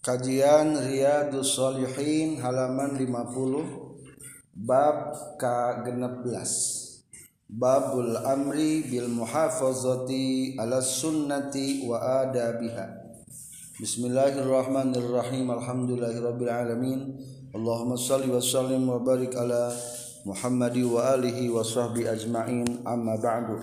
Kajian Riyadhus Shalihin halaman 50 bab ka-16 Babul amri bil muhafazati ala sunnati wa adabiha. Bismillahirrahmanirrahim. Alhamdulillahirabbil alamin. Allahumma shalli wa sallim wa barik ala Muhammadi wa alihi wa sahbi ajma'in. Amma ba'du.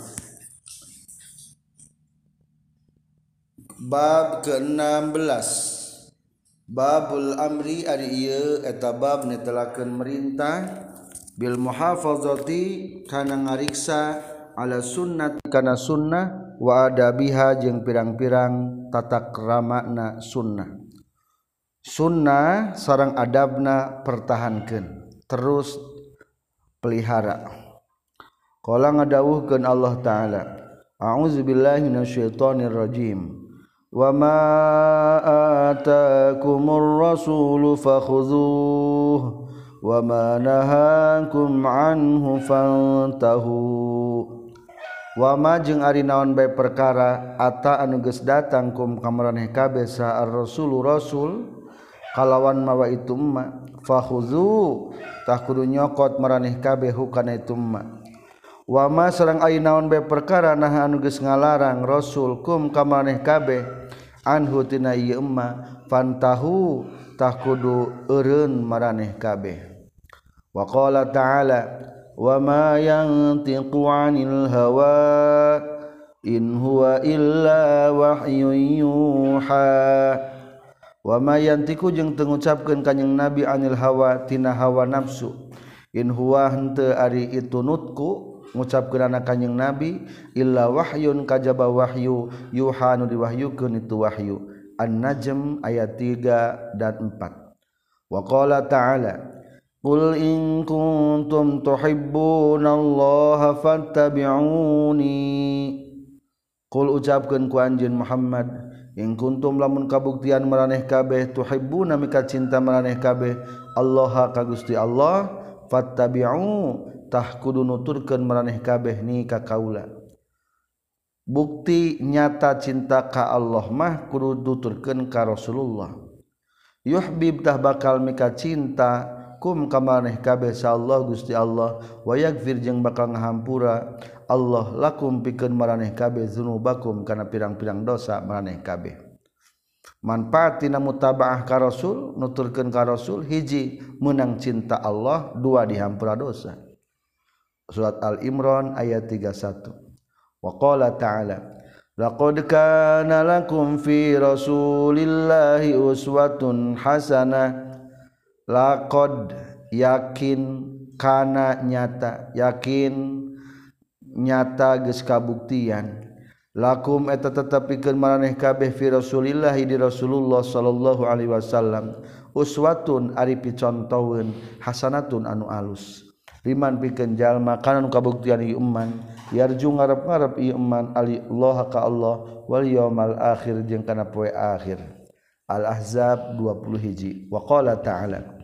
Bab ke-16 Babul amri ari ieu eta bab netelakeun merintah bil muhafazati kana ngariksa ala sunnat kana sunnah wa adabiha jeung pirang-pirang tata kramana sunnah. Sunnah sareng adabna pertahankeun terus pelihara. Qala ngadawuhkeun Allah taala, a'udzubillahi minasyaitonir rajim. Wa ma atakumur rasulu fakhudhuhu wa ma nahakum anhu fantahu. Wa ma jeung ari naon bae perkara ata anu geus datang kum ka maraneh kabeh sa ar-rasulu rasul kalawan mawa itu ma fakhudhu tah kudu nyokot maraneh kabeh hukana itu ma. Wa ma sareng ari naon bae perkara nah anu geus ngalarang rasul kum ka maraneh kabeh anhu tina ieu emma fantahu tah kudu eureun maraneh kabeh. Wa qala ta'ala wa ma yantiqu 'anil hawa in huwa illa wahyun yuha. Wa ma yantiqu jeung teu ngucapkeun kanjing nabi 'anil hawa tina hawa nafsu in huwa henteu ari itu nutku ngucapkeun anak kanjing nabi illa wahyun kajaba wahyu yuha nu diwahyukeun itu wahyu. An-Najm ayat 3 dan 4. Wa qala ta'ala qul in kuntum tuhibbunallaha fattabi'uni. Qul ucapkeun ku anjeun Muhammad in kuntum lamun kabuktian maraneh kabeh tuhibbuna mika cinta maraneh kabeh Allah ka Gusti Allah fattabi'u tah kudu nuturkeun maraneh kabeh ni ka kaula. Bukti nyata cinta ka Allah mah kudu nuturkeun ka Rasulullah. Yuhbib tah bakal mika cinta kum ka maraneh kabeh sa Allah Gusti Allah wa yaghfir jeung bakal ngahampura Allah lakum pikeun maraneh kabeh dzunubakum kana pirang-pirang dosa maraneh kabeh. Manfaatina mutabaah ka Rasul nuturkeun ka Rasul hiji meunang cinta Allah, dua dihampura dosa. Surat Al-Imran ayat 31. Wa qala ta'ala laqad kana lakum fi rasulillahi uswatun hasanah. Laqad yakin kana nyata yakin nyata geus kabuktian lakum eta tetepikeun maraneh kabeh fi rasulillah di Rasulullah sallallahu alaihi wasallam uswatun ari picontoeun hasanatun anu alus liman pikeun jalma kana nu kabuktian ieu iman yarju ngarep-ngarep ieu iman Allah ka Allah wal yaumil akhir jeung kana poe akhir. Al-Ahzab 21. Wa qala ta'ala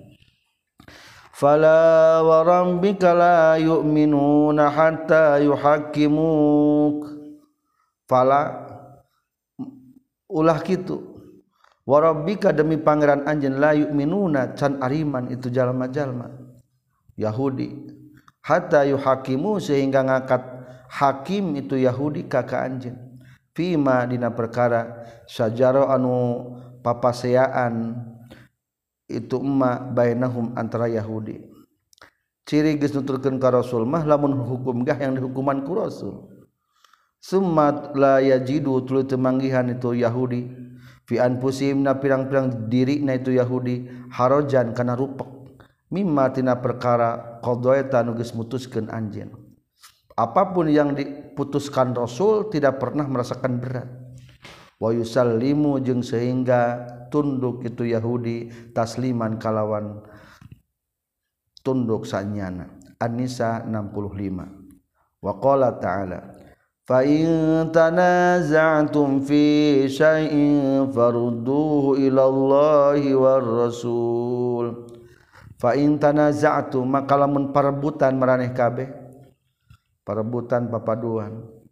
fala wa rabbika la yu'minuna hatta yuhakkimuk. Fala ulah kitu wa rabbika demi pangeran anjeun la yu'minuna can ariman itu jalma-jalma Yahudi hatta yuhakimu sehingga ngakat hakim itu Yahudi ka anjeun fima dina perkara sajaro anu papaseaan itu emma bainahum antara Yahudi. Ciri geus nuturkeun ka Rasul mah lamun hukum gah yang dihukuman ku Rasul. Summa la yajidu tuluy teu manggihan itu Yahudi fi anfusihim na pirang-pirang dirina itu Yahudi harajan kana rupek mimma tina perkara qadaita nu geus mutuskeun anjeun. Apapun yang diputuskan Rasul tidak pernah merasakan berat. Wa yusallimu jeung sehingga tunduk itu Yahudi tasliman kalawan tunduk sanyana. An-Nisa 65. Wa qala ta'ala fa in tanaza'tum fi syai'in farudduhu ila Allahi war Rasul. Fa in tanaza'tum maka lamun parebutan maraneh kabeh parebutan papaduan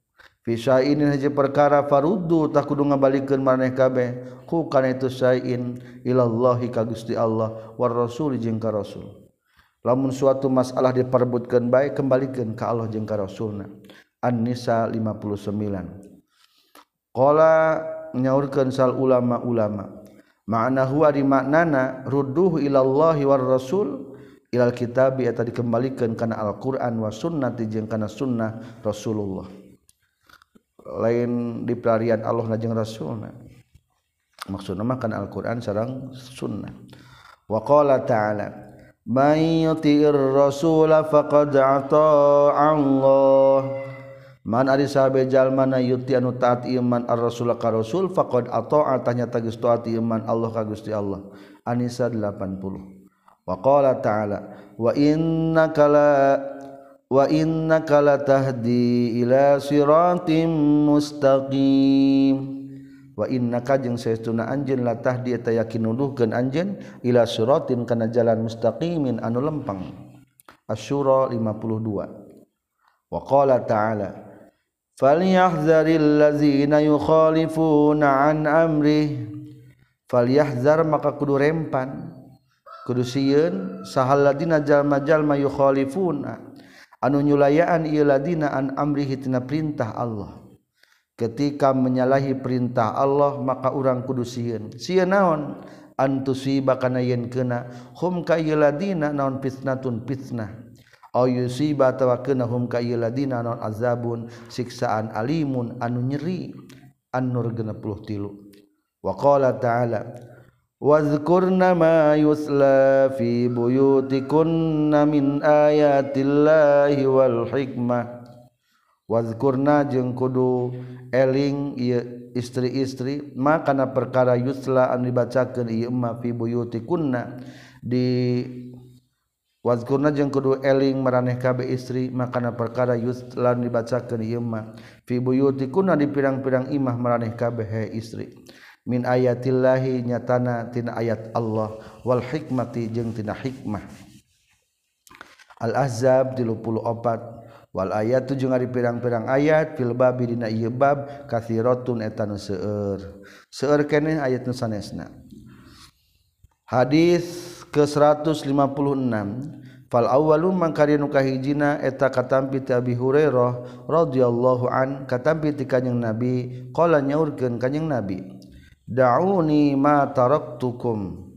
Fisain haji perkara faruddu tak kudu ngabalikeun maneh kabeh ku kana itu sain ilallahi ka Gusti Allah war rasul jeung ka rasul. Lamun suatu masalah diperebutkeun bae kembalikeun ka Allah jeung ka rasulna. An-Nisa 59. Qala nyaurkeun sal ulama-ulama ma'nahu ari maknana rudduhu ilallahi war rasul ilal kitabi eta dikembalikeun kana Al-Qur'an wa sunnati jeung kana sunnah Rasulullah. Lain di pelarian Allah jeung Rasulna maksudna mah kana Al-Qur'an sareng sunnah. Wa qala ta'ala may yuti'ir rasula faqad ata'a Allah man ari sahabe jalma na yuti anu taat iman ar-rasul ka rasul faqad ata'a tanya tagis taat iman Allah ka Gusti Allah. An-Nisa 80. Wa qala ta'ala wa innaka la tahdi ila siratim mustaqim. Wa innaka jeung saestuna anjeun la tahdi eta yakin nuduhkeun anjeun ila siratin kana jalan mustaqimin anu lempang. Asy-Syura 52. Wa qala ta'ala falyahzaril ladzina yukhalifuna an amrih falyahzar maka kudu rempan kudu sieun sahal ladina jalma-jalma yukhalifuna anu nyulayaan ieu ladina an amrihi tina perintah Allah. Ketika menyalahi perintah Allah maka urang kudu sieun naon antusiba kana yen keuna hum ka ieu ladina naon fitnatun fitnah aw yusiba tawakkana ka ieu ladina naon azabun siksaan alimun anu nyeri An-Nur 63. Wa qala ta'ala wazkurna ma yusla fi buyutikunna min ayatillahi wal hikmah. Wazkurna jeung kudu eling ieu istri-istri ma kana perkara yusla anu dibacakeun ieu ma fi buyutikunna di wazkurna jeung kudu eling maraneh kabeh istri makana perkara yusla anu dibacakeun ieu ma fi buyutikunna di pirang-pirang imah maraneh kabeh he istri min ayatillahi nyatana tina ayat Allah wal hikmati jeung tina hikmah. Al-Ahzab 34. Wal ayatu jeung ari pirang-pirang ayat fil babi dina ieu bab katsiratun eta nu seueur keneh ayat nu sanesna. Hadis ke 156. Fal awwalu mangkari nu kahijina eta katampi ti Abi Hurairah radhiyallahu an katampi ti Kanjeng Nabi qala nyaurkeun Kanjeng Nabi da'uni ma taraktukum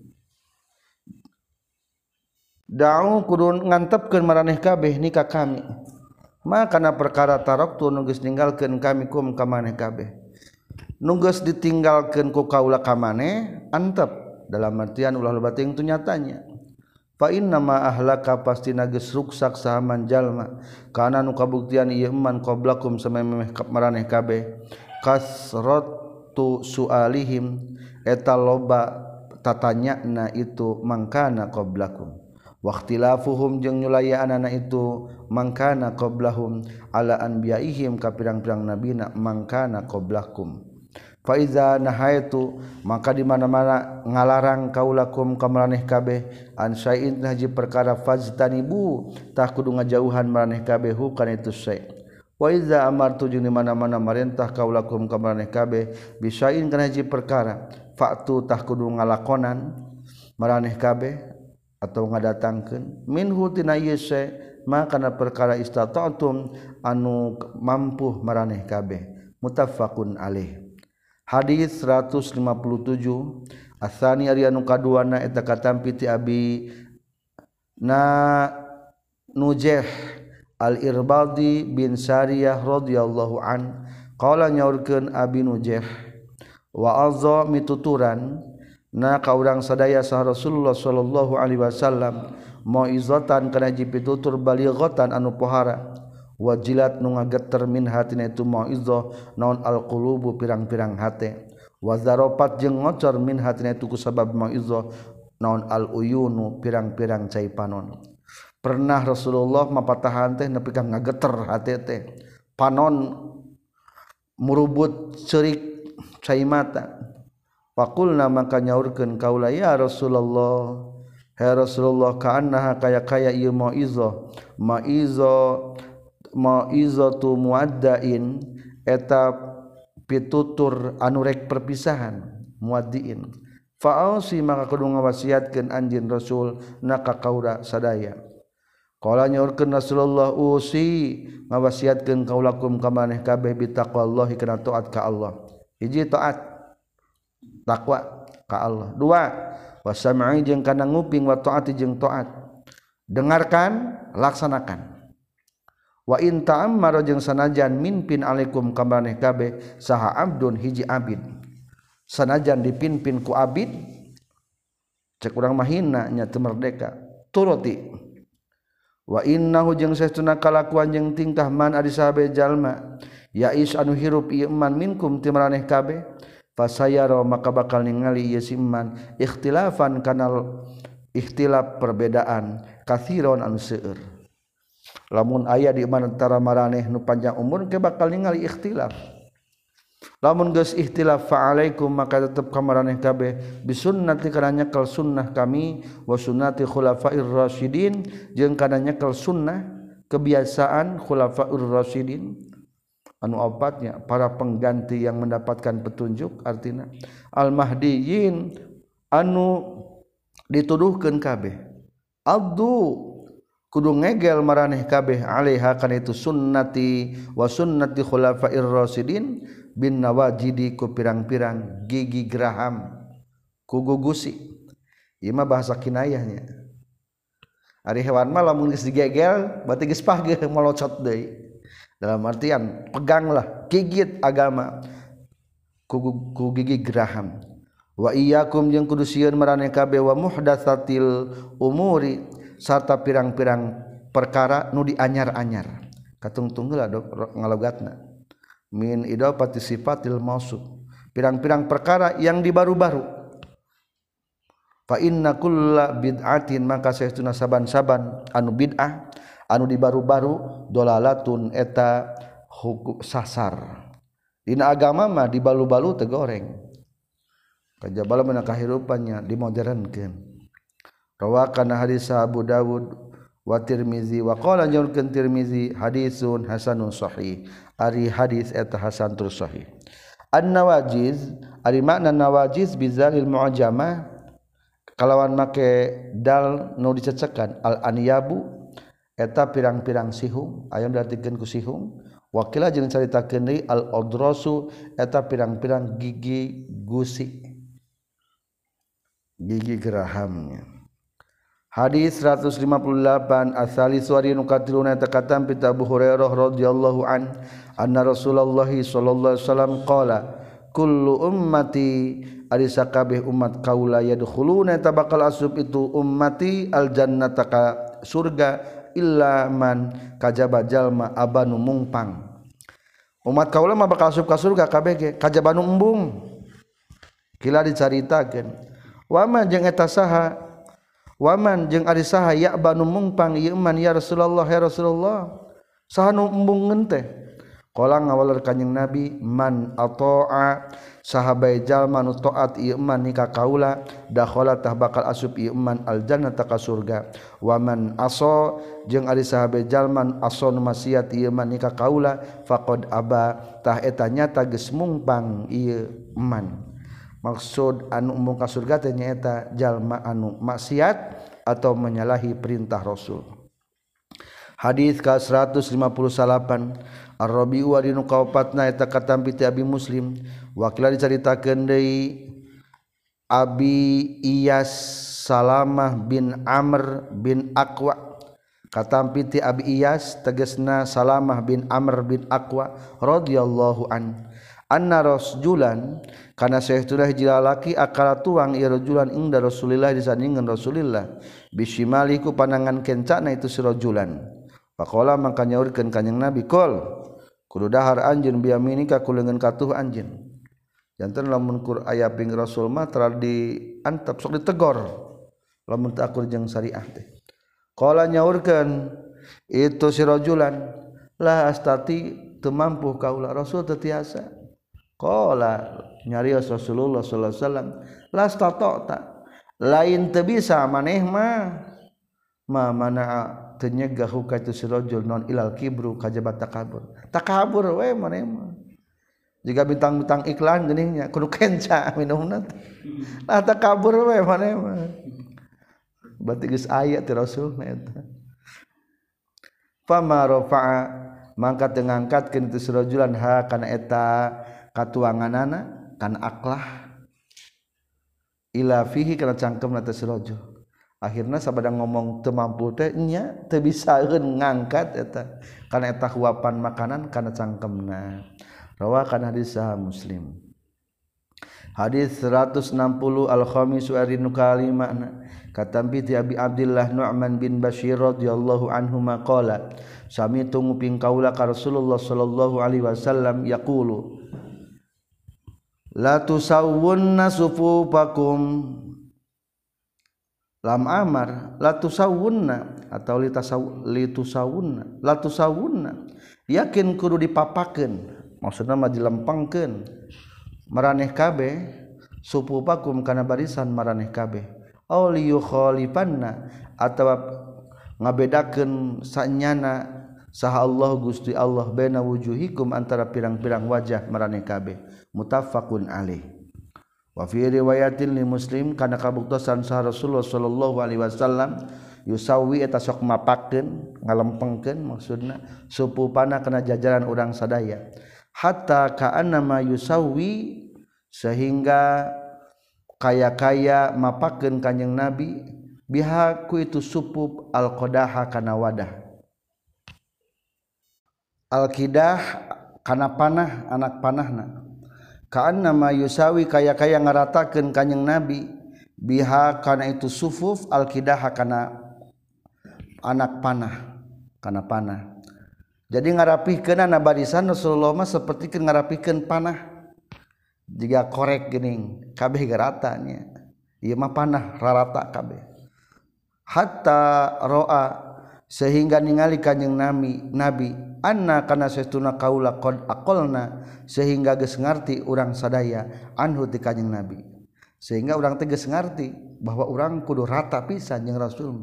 da'u kudu ngantepkeun maraneh kabeh ni ka kami makana perkara taraktu nu geus ninggalkeun kami kum ka maneh kabeh nu geus ditinggalkeun ku kaula ka maneh antep dalam artian ulah loba teuing tu nyatanya fa inna ma ahlaka pastina geus ruksak sahaman jalma kana nu kabuktian ieu man qablakum samemeh maraneh kabeh kasratu sualihim eta loba tatanyana itu mangkana qablakum waqtilafuhum jeung nyulayaanana itu mangkana qablahum ala anbiyaihim ka pirang-pirang nabina mangkana qablakum fa iza nahaitu maka di mana-mana ngalarang kaulakum ka maraneh kabeh an syai'in haji perkara fajtanibu tah kudu ngajauhan maraneh kabeh kana itu syai' wa iza amartu jeung di mana-mana marentah kaulakum ka maraneh kabeh bisain kana haji perkara fa'tu tah kudu ngalakonan maraneh kabeh atau ngadatangkeun minhu tina ieu syai' maka kana perkara istata'tum anu mampu maraneh kabeh muttafaqun alaih. Hadis 157. Asani ari anu kaduana eta katampi ti Abi Nujeh Al-Irbadi bin Sariyah radhiyallahu an qala nyaurkeun Abi Nujeh wa azza mituturan na ka urang sadaya sah Rasulullah sallallahu alaihi wasallam mauizatan kana jipitutur balighatan anu pohara wajilat nu ngageter min hatina itu mauizah naon alqulubu pirang-pirang hate wazaropat jeung ngocor min hatina itu kusabab mauizah naon aluyunu pirang-pirang cai panon. Pernah Rasulullah mapatahan teh nepi ka ngageter hate teh panon murubut ceurik cai mata faqulna maka nyaurkeun kaula ya Rasulullah ya Rasulullah kaannaha kaya ieu mauizah maizatu muaddain eta pitutur anu rek perpisahan muaddiin fa'ausi maka kudu ngawasiatkeun anjeun Rasul naka kaula sadaya qala nyaurkeun Rasulullah usi ngawasiatkeun kaulakum ka maneh kabeh bi taqwallahi kana taat ka Allah hiji taat takwa ka Allah dua wasam'i jeung kana nguping wa taati jeung taat dengarkan laksanakan wa in ta'ammara jeung sanajan mimpin alaikum ka maneh kabeh saha abdun hiji abid sanajan dipimpin ku abid cek urang mah hina nya teu merdeka turuti wa innahu jeung saestuna kalakuan jeung tingkah man ari sahabe jalma yais anu hirup ieu man minkum ti maraneh kabeh fasayara maka bakal ningali ieu simman ikhtilafan kanal ikhtilaf perbedaan katsiron anu seueur lamun aya di antara maraneh nu panjang umur ke bakal ningali ikhtilaf lamun geus ikhtilaf fa alaikum maka tetep ka maraneh kabeh bisunnati kana nyekel sunnah kami wa sunnati khulafair rasyidin jeung kana nyekel sunnah kebiasaan khulafair rasyidin anu opatnya para pengganti yang mendapatkan petunjuk artina al mahdiyin anu dituduhkeun kabeh abdu kudu ngegel maraneh kabeh alaiha kana itu sunnati wa sunnati khulafair rasyidin bin nawajidi ku pirang-pirang gigi geraham ku gugusi ieu mah bahasa kinayahnya ari hewan mah lamun geus digegel berarti geus pageuh molocot deui dalam artian peganglah gigit agama ku gigi geraham wa iyyakum jeung kudu sieun maraneh kabeh wa muhdatsatil umuri sarta pirang-pirang perkara nu dianyar-anyar katungtung heula ngalogatna min idafati sifatil mausuf pirang-pirang perkara yang dibaru-baru fa inna kulla bid'atin maka saestuna saban-saban anu bid'ah anu dibaru-baru dolalatun eta hukum sasar dina agama mah dibalu-balu teu goreng kajabala meunang kahirupannya dimodernkeun rawakan hadis Abu Dawud wa Tirmizi wa qala nyorkeun Tirmizi hadisun hasanun sahih ari hadis eta hasan tur sahih an-nawajiz ari makna nawajiz bizalil mu'jamah kalawan make dal nu dicecekan al-anyabu eta pirang-pirang sihung aya diartikeun ku sihung wakila jeung caritakeun deui al-adrasu eta pirang-pirang gigi gusi gigi gerahamnya hadis 158 asali suari nu katiluna eta katam pit Abu Hurairah radhiyallahu anna Rasulullah sallallahu alaihi wasallam qala kullu ummati ari sakabeh umat kaula yadkhuluna eta bakal asup itu ummati al jannata ka surga illa man kajaba jalma abanu mungpang umat kaula mah bakal asup ka surga kabeh ge kajaba nu embung kila dicaritakeun wa jeung eta saha waman jeung ari saha ya banu mungpang ieu man ya Rasulullah ya Rasulullah saha nu embung teh qala ngawaleur kanjing Nabi man ata'a sahabai jalma nu taat ieu man ka kaula dakhala tah bakal asup ieu man al jannata ka surga waman asa jeung ari sahabai jalma asa nu maksiat ieu man ka kaula faqad aba tah eta nyata geus mungpang ieu man maksud anu embung ka surga teh nyaeta jalma anu maksiat atau menyalahi perintah Rasul. Hadis ka 158 Ar-Rabi'u wa dinu kaopatna eta katampi ti Abi Muslim wakila dicaritakeun deui Abi Iyas Salamah bin Amr bin Aqwa katampi ti Abi Iyas tegasna Salamah bin Amr bin Aqwa radhiyallahu anna rasjulan kana saestuna hiji lalaki akala tuang ieu rajulan inda Rasulillah disandingan Rasulillah bisimali ku panangan kencana itu si rajulan faqala mangka nyaurkeun kanjing Nabi qol kudu dahar anjeun biyaminika ku leungeun katuh anjeun janten lamun kur aya ping Rasul mah tara diantep sok ditegor lamun teu akur jeung syariah teh qala nyaurkeun itu si rajulan la astati teu mampu kaula Rasul teu tiasa qala nyarios Rasulullah sallallahu alaihi wasallam lastata'ta lain teu bisa maneh mah mana teu nyegah ka itu si rajul non ilal kibru kajabat takabur we maneh mah jika bintang-bintang iklan geningnya kudu kenca minumna lah tak kabur we maneh mah berarti geus aya ti Rasul eta fama rafa'a mangkat ngangkatkeun itu sirajulan ha kana eta katuanganana kana aklah ila fihi kana cangkemna teh sirajul akhirna sabada ngomong teu mampu teh nya teu bisaeun ngangkat eta kana eta huapan makanan kana cangkemna rawakan hadis sahih Muslim hadis 160 al-khamisu arinu kalimana katampi ti Abi Abdillah Nu'man bin Bashir radhiyallahu anhu maqala sami tunguping kaula ka Rasulullah sallallahu alaihi wasallam yaqulu la tusawwunna sufufakum lam amar la tusawwunna atau litusawwunna la tusawwunna yakin kudu dipapakeun maksudna mah dilempengkeun maraneh kabeh sufufakum kana barisan maraneh kabeh aw liyukhalifanna atawa ngabedakeun sanyana saha Allah Gusti Allah baina wujuhikum antara pirang-pirang wajah maraneh kabeh muttafaqun alaih wa fi riwayatin li Muslim kana kabuktosan saha Rasulullah sallallahu alaihi wasallam yusawi eta sok mapakeun ngalempengkeun maksudna supupana kana jajaran urang sadaya hatta ka'annama yusawi sehingga kaya-kaya mapakeun kanjing Nabi biha ku itu supup al-qadaha kana wadah al-qidah kana panah anak panahna ka'annama yusawi kaya-kaya ngaratakeun kanjing Nabi biha kana itu sufuf al-qidah kana anak panah jadi ngarapihkeun na barisan Rasulullah mah sapertikeun ngarapihkeun panah jika korek geuning kabeh rata nya ieu mah panah rarata kabeh hatta roa sehingga ningali kanjing nabi anna kana saestuna kaula qad aqalna sehingga geus ngarti urang sadaya anhu ti kanjing nabi sehingga urang teh geus ngarti bahwa urang kudu rata pisan jeung Rasul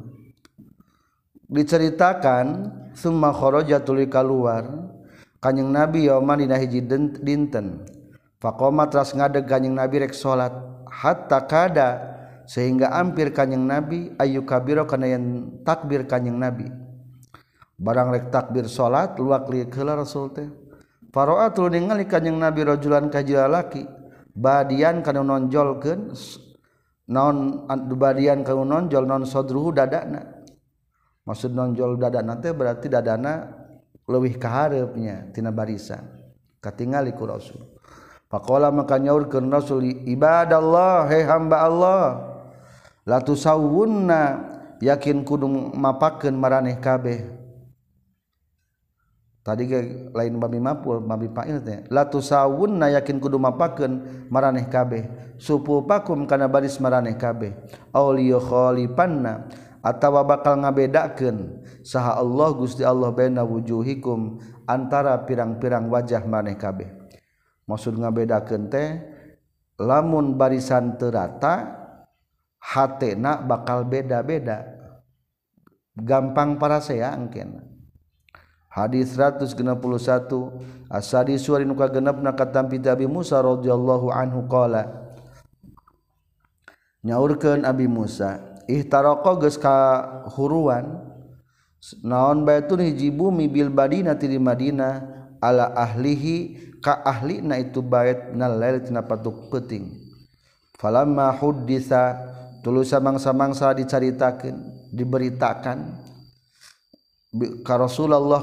diceritakan summa kharaja tuluy kaluar kanjing nabi yauman dina hiji dinten faqoma teras ngadeg kanjing nabi rek salat hatta kada sehingga ampir kanjing nabi ayu kabiro kana yen takbir kanjing nabi barang rek takbir salat luak liuk heula Rasul teh faro'a tuluy ningali kanjing nabi rajulan kajila laki badian kana nonjolkeun naon badian kana nonjol non sadruhu dadana maksud nonjol dadana teh berarti dadana leuwih ka hareupnya tina barisan katingali ku Rasul faqala maka nyaurkeun Rasul ibadallah he hamba Allah la tusawwunna yakin kudu mapakeun maraneh kabeh tadi ge lain babi mapul babi fa'il teh la tusawwunna yakin kudu mapakeun maraneh kabeh supupakum kana baris maraneh kabeh aw liyukhalifanna atawa bakal ngabedakeun saha Allah Gusti Allah baina wujuhikum antara pirang-pirang wajah maraneh kabeh maksud ngabedakeun teh lamun barisan teu rata hatena bakal beda-beda gampang parasea engkeun hadis 161 asadi suari nu kagenepna katampi Abi Musa radhiyallahu anhu qala nyaurkeun Abi Musa ihtaraqa geus kahuruan naon baitun hiji bumi bil Madinah di Madinah ala ahlihi ka ahlina itu bait nal lail tina patuk peuting falamma hudditsa tuluy samangsa-mangsa dicaritakeun diberitakan ka Rasulullah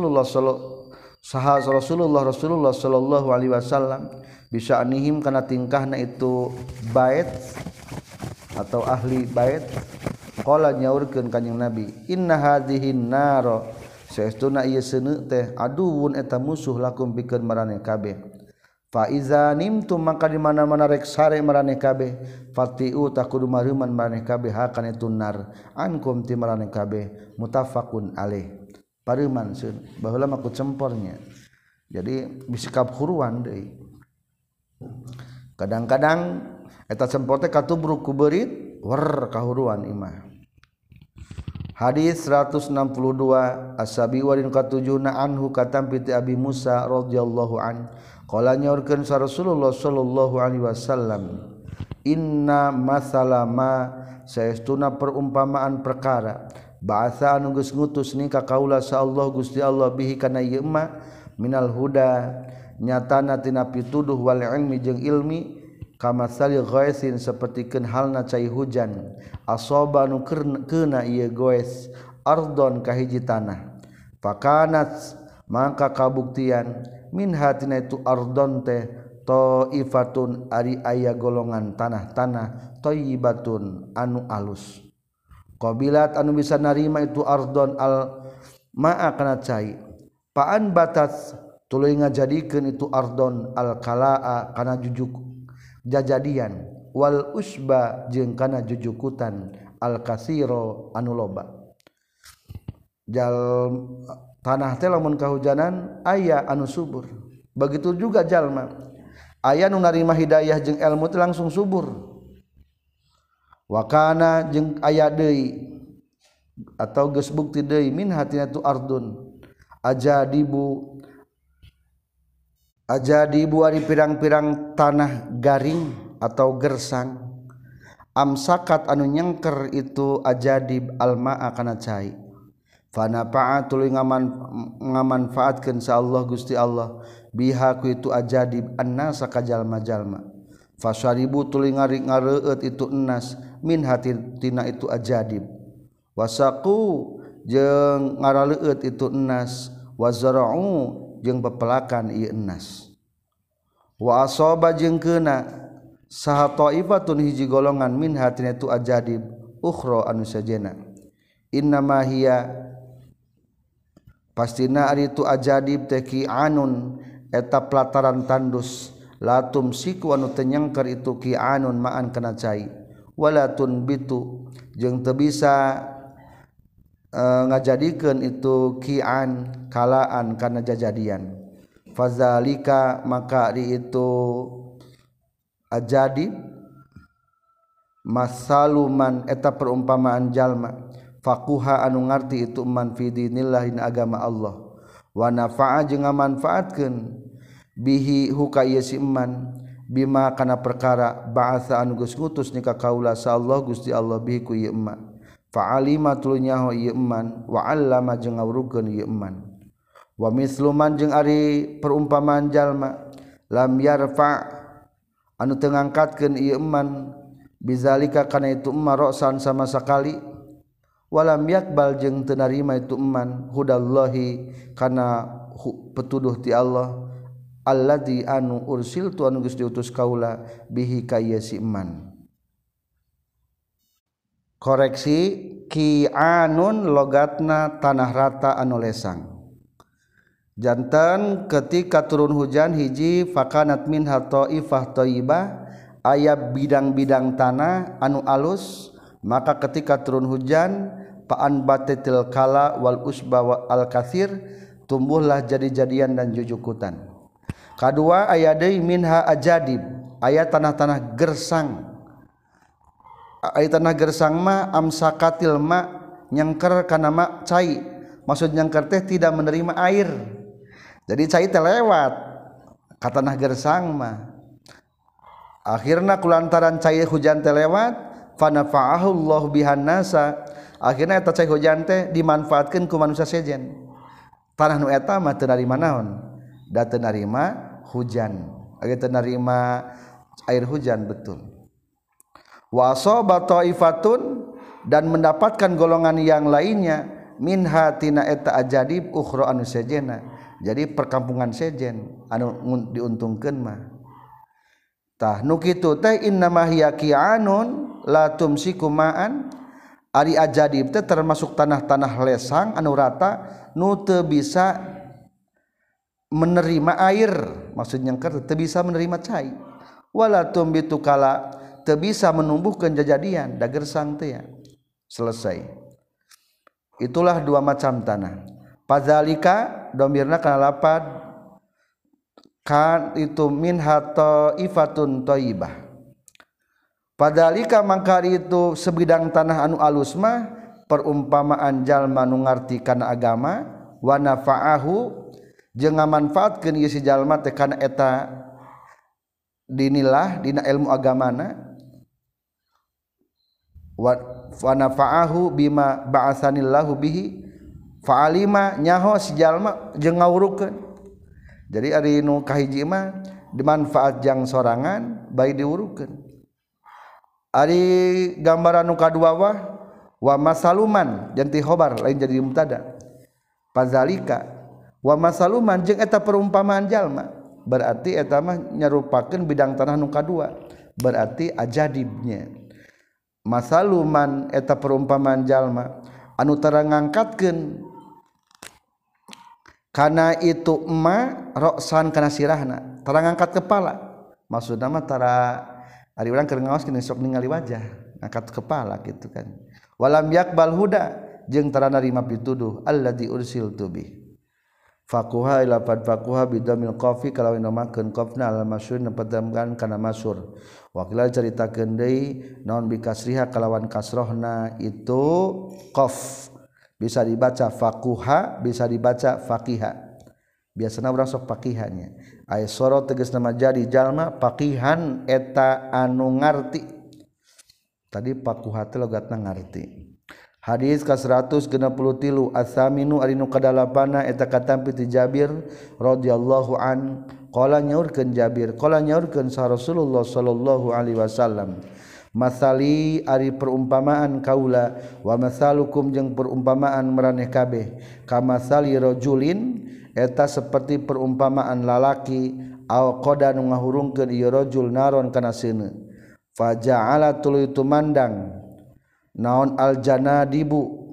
sallallahu alaihi wasallam bisya'nihim kana tingkahna itu bait atau ahli bait qala nyaurkeun kanjing Nabi inna hadhihin nar saestuna ieu seuneu teh aduun eta musuh lakum pikeun maraneh kabeh fa iza nimtum maka di mana-mana rek sare maraneh kabeh fatiu takudu mareuman maraneh kabeh hakana tunar ankum ti maraneh kabeh muttafaqun alaih pareuman seun baheula mah ku cempornya jadi bisikap huruan deui kadang-kadang eta cempor teh katubruk ku beurit wer kahuruan imah Hadis 162 As-Sabi warin katujuna anhu katam piti Abi Musa radhiyallahu an qala nyaurkeun sa Rasulullah sallallahu alaihi wasallam inna masalama saestuna perumpamaan perkara ba'atha anu geus ngutus ni ka kaula sa Allah Gusti Allah bihi kana ieu ma minal huda nyatana tina pituduh wal ilmi jeung ilmi kama sali ghaisin sapertikeun halna cai hujan asaba nu keuna ieu goes ardon ka hiji tanah fakanat maka kabuktian min hatina itu ardon teh taifatun ari aya golongan tanah-tanah thayyibatun anu alus qabilat anu bisa narima itu ardon al ma'a kana cai paan batas tuluy ngajadikeun itu ardon al kalaa kana jujuk jajadian wal usba jeung kana jujukutan al kasiro anu loba jal tanah teh lamun kahujanan aya anu subur begitu juga jalma aya nu narima hidayah jeung ilmu teh langsung subur wa kana jeung aya deui atau geus bukti deui min hatina tu ardun ajadibu ari pirang-pirang tanah garing atau gersang amsakat anu nyengker itu ajadib almaa kana cai fanafa'a tuluy ngamanfaatkeun sa Allah Gusti Allah biha ku itu ajadib annasa ka jalma-jalma fasyaribu tuluy ngareueut itu ennas min hatina itu ajadib wasaqu jeung ngaraleueut itu ennas wazara'u jeung bepelakan ieu ennas wa asaba jeung keuna saha taifatun hiji golongan min hatina tu ajadib ukhra anu sajena innama hiya pastina ari tu ajadib teh ki'anun eta pelataran tandus latum siku anu teu nyengker itu ki'anun ma'an kana cai walatun bitu jeung teu bisa ngajadikeun itu ki'an kalaan kana jajadian fazalika maka di itu ajadib masaluman eta perumpamaan jalma faquha anu ngarti itu man fi dinillah ina agama Allah wa nafa'a jeung ngamanfaatkeun bihi huka ieu si man bima kana perkara ba'atsa anu geus ngutus ni ka kaula sa Allah Gusti Allah bihi ku ieu man fa'alima tulunya ieu man wa 'allama jeung ngawrukeun ieu man wa misluman jeung ari perumpamaan jalma lam yarfa anu teu ngangkatkeun ieu man bizalika kana itu emma ra'san sama sakali walam yakbal jeung teu narima itu man hudallahi kana petuduh ti Allah alladzi anu ursiltu anu geus diutus kaula bihi ka ieu si man koreksi ki'anun logatna tanah rata anu lesang jantan ketika turun hujan hiji fakanat minha taifah thayyibah aya bidang-bidang tanah anu alus maka ketika turun hujan pa'an batil kala wal usba al katsir tumbuhlah jadi-jadian dan jujukutan kadua aya deui minha ajadib aya tanah-tanah gersang aya tanah gersang mah amsakatil ma nyengker kana ma cai maksud nyengker teh tidak menerima air jadi cai teh lewat ka tanah gersang mah akhirna kulantaran cai hujan teh lewat fanafa'ahu Allah bihan nasa akhirna eta cai hujan teh dimanfaatkeun ku manusia sejen tanah nu eta mah teu narima naon da teu narima hujan age teu narima air hujan betul wa asaba taifatun dan mendapatkan golongan yang lainnya minha tina eta ajadib ukhra anu sejena jadi perkampungan sejen anu diuntungkeun mah tah nu kitu teh innama hiya ki'anun la tumsiku ma'an ari ajadib teh termasuk tanah-tanah lesang anu rata nu teu bisa menerima air maksudnya teu bisa menerima cai wala tumbitu kala teu bisa menumbuhkeun jajadian da gersang teh ya selesai itulah dua macam tanah padzalika domirna kana lapad kan itu min hatta ifatun thayyibah padzalika mangka itu sebidang tanah anu alus mah perumpamaan jalma nu ngarti kana agama wa nafa'ahu jeung ngamanfaatkeun ieu si jalma teh kana eta dinilah dina ilmu agamana wa nafa'ahu bima ba'atsanillahu bihi fa'alima nyaho si jalma jeung ngawurukeun. Jadi ari nu kahiji mah dimanfaat jang sorangan bae diurukeun. Ari gambaran nu kadua wa masaluman janti khobar lain jadi mubtada. Pazalika wa masaluman jeung eta perumpamaan jalma berarti eta mah nyarupakeun bidang tanah nu kadua berarti ajadibnya. Masaluman eta perumpamaan jalma anu tara ngangkatkeun kana itu emma roksan kana sirahna tara ngangkat kepala maksudna mah tara ari urang keur ngaos kene sok ningali wajah ngangkat kepala gitu kan walam yakbal huda jeung tara narima pituduh alladzi ursiltu bih faquha ila faquha bidamil qafi kalau namakeun qafna al masyhur nepedamkan kana masyhur wa qila caritakeun deui naon bi kasriha kalawan kasrohna itu qaf bisa dibaca faquha bisa dibaca faqiha biasana urang sok faqihannya aya soro tegasna mah jadi jalma faqihan eta anu ngarti tadi faquha teh logatna ngarti. Hadis ka 163 as-saminu ari nu kadalapana eta katampi ti Jabir radhiyallahu an qala nyaurkeun Jabir qala nyaurkeun sa Rasulullah sallallahu alaihi wasallam masali ari perumpamaan kaula wa masalukum jeung perumpamaan maraneh kabeh kamasali rajulin eta seperti perumpamaan lalaki au qada nu ngahurungkeun ieu rajul naron kana seuneu faja'ala tuluy tumandang naon aljanadibu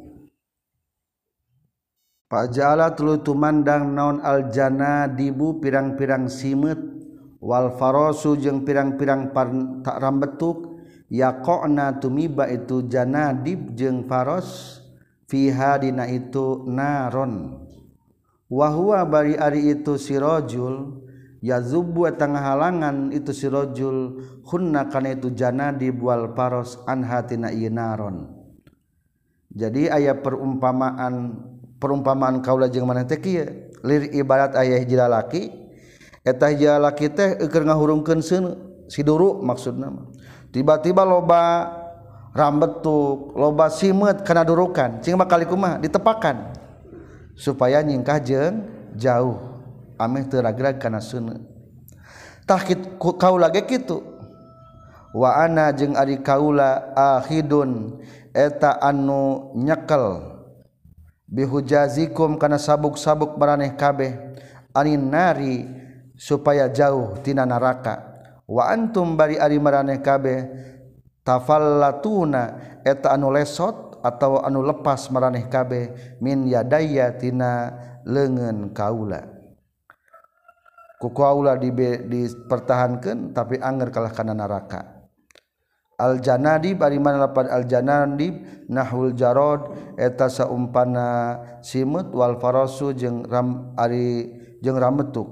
faja'ala tuluy tumandang naon aljanadibu pirang-pirang simeut wal farasu jeung pirang-pirang tak rambetuk yaqona tumiba itu janadib jeung faros fiha dina itu naron wa huwa bari ari itu sirajul yazubbu tengah halangan itu sirajul hunna kana itu janadib wal faros an hatina ieu naron. Jadi aya perumpamaan kaula jeung maneh teh kieu lir ibarat aya hiji lalaki eta hiji lalaki teh keur ngahurungkeun seuneu siduru maksudna mah tiba-tiba loba rambetuk loba simeut kana durukan cing bakal kumaha ditepakan supaya nyingkah jeung jauh ameh teu ragrag kana seuneu tah kaula ge kitu wa ana jeung ari kaula ahidun eta anu nyekel bihujazikum kana sabuk-sabuk maraneh kabeh anin nari supaya jauh tina neraka wa antum bari ari maraneh kabeh tafallatuna eta anu lesot atau anu lepas maraneh kabeh min yadaya tina leungeun kaula ku kaula dipertahankeun tapi anger kalah kana neraka. Al janadi bari mana lapad al janadi nahul jarod eta saumpana simut wal farasu jeung rambetuk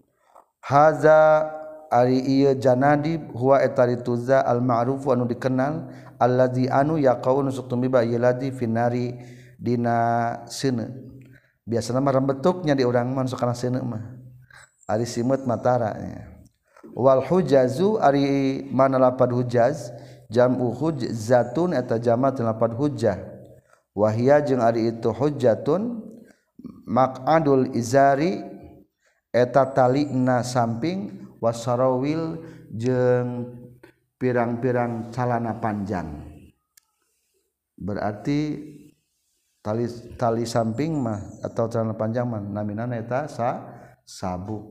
haza ari ieu janadi huwa eta rituza al ma'ruf anu dikenal allazi anu yaqaunu sutumiba yaladi finari dina seuneu biasana mah rambetuknya di urang mah sok kana seuneu mah ari simut matara wal hujazu ari mana lapad hujaz jam'u hujzatun eta jamak lapad hujjah wahia jeung ari itu hujjatun maq'adul izari eta talina samping wasarawil jeung pirang-pirang calana panjang berarti tali samping mah atau calana panjang mah naminana eta sabuk.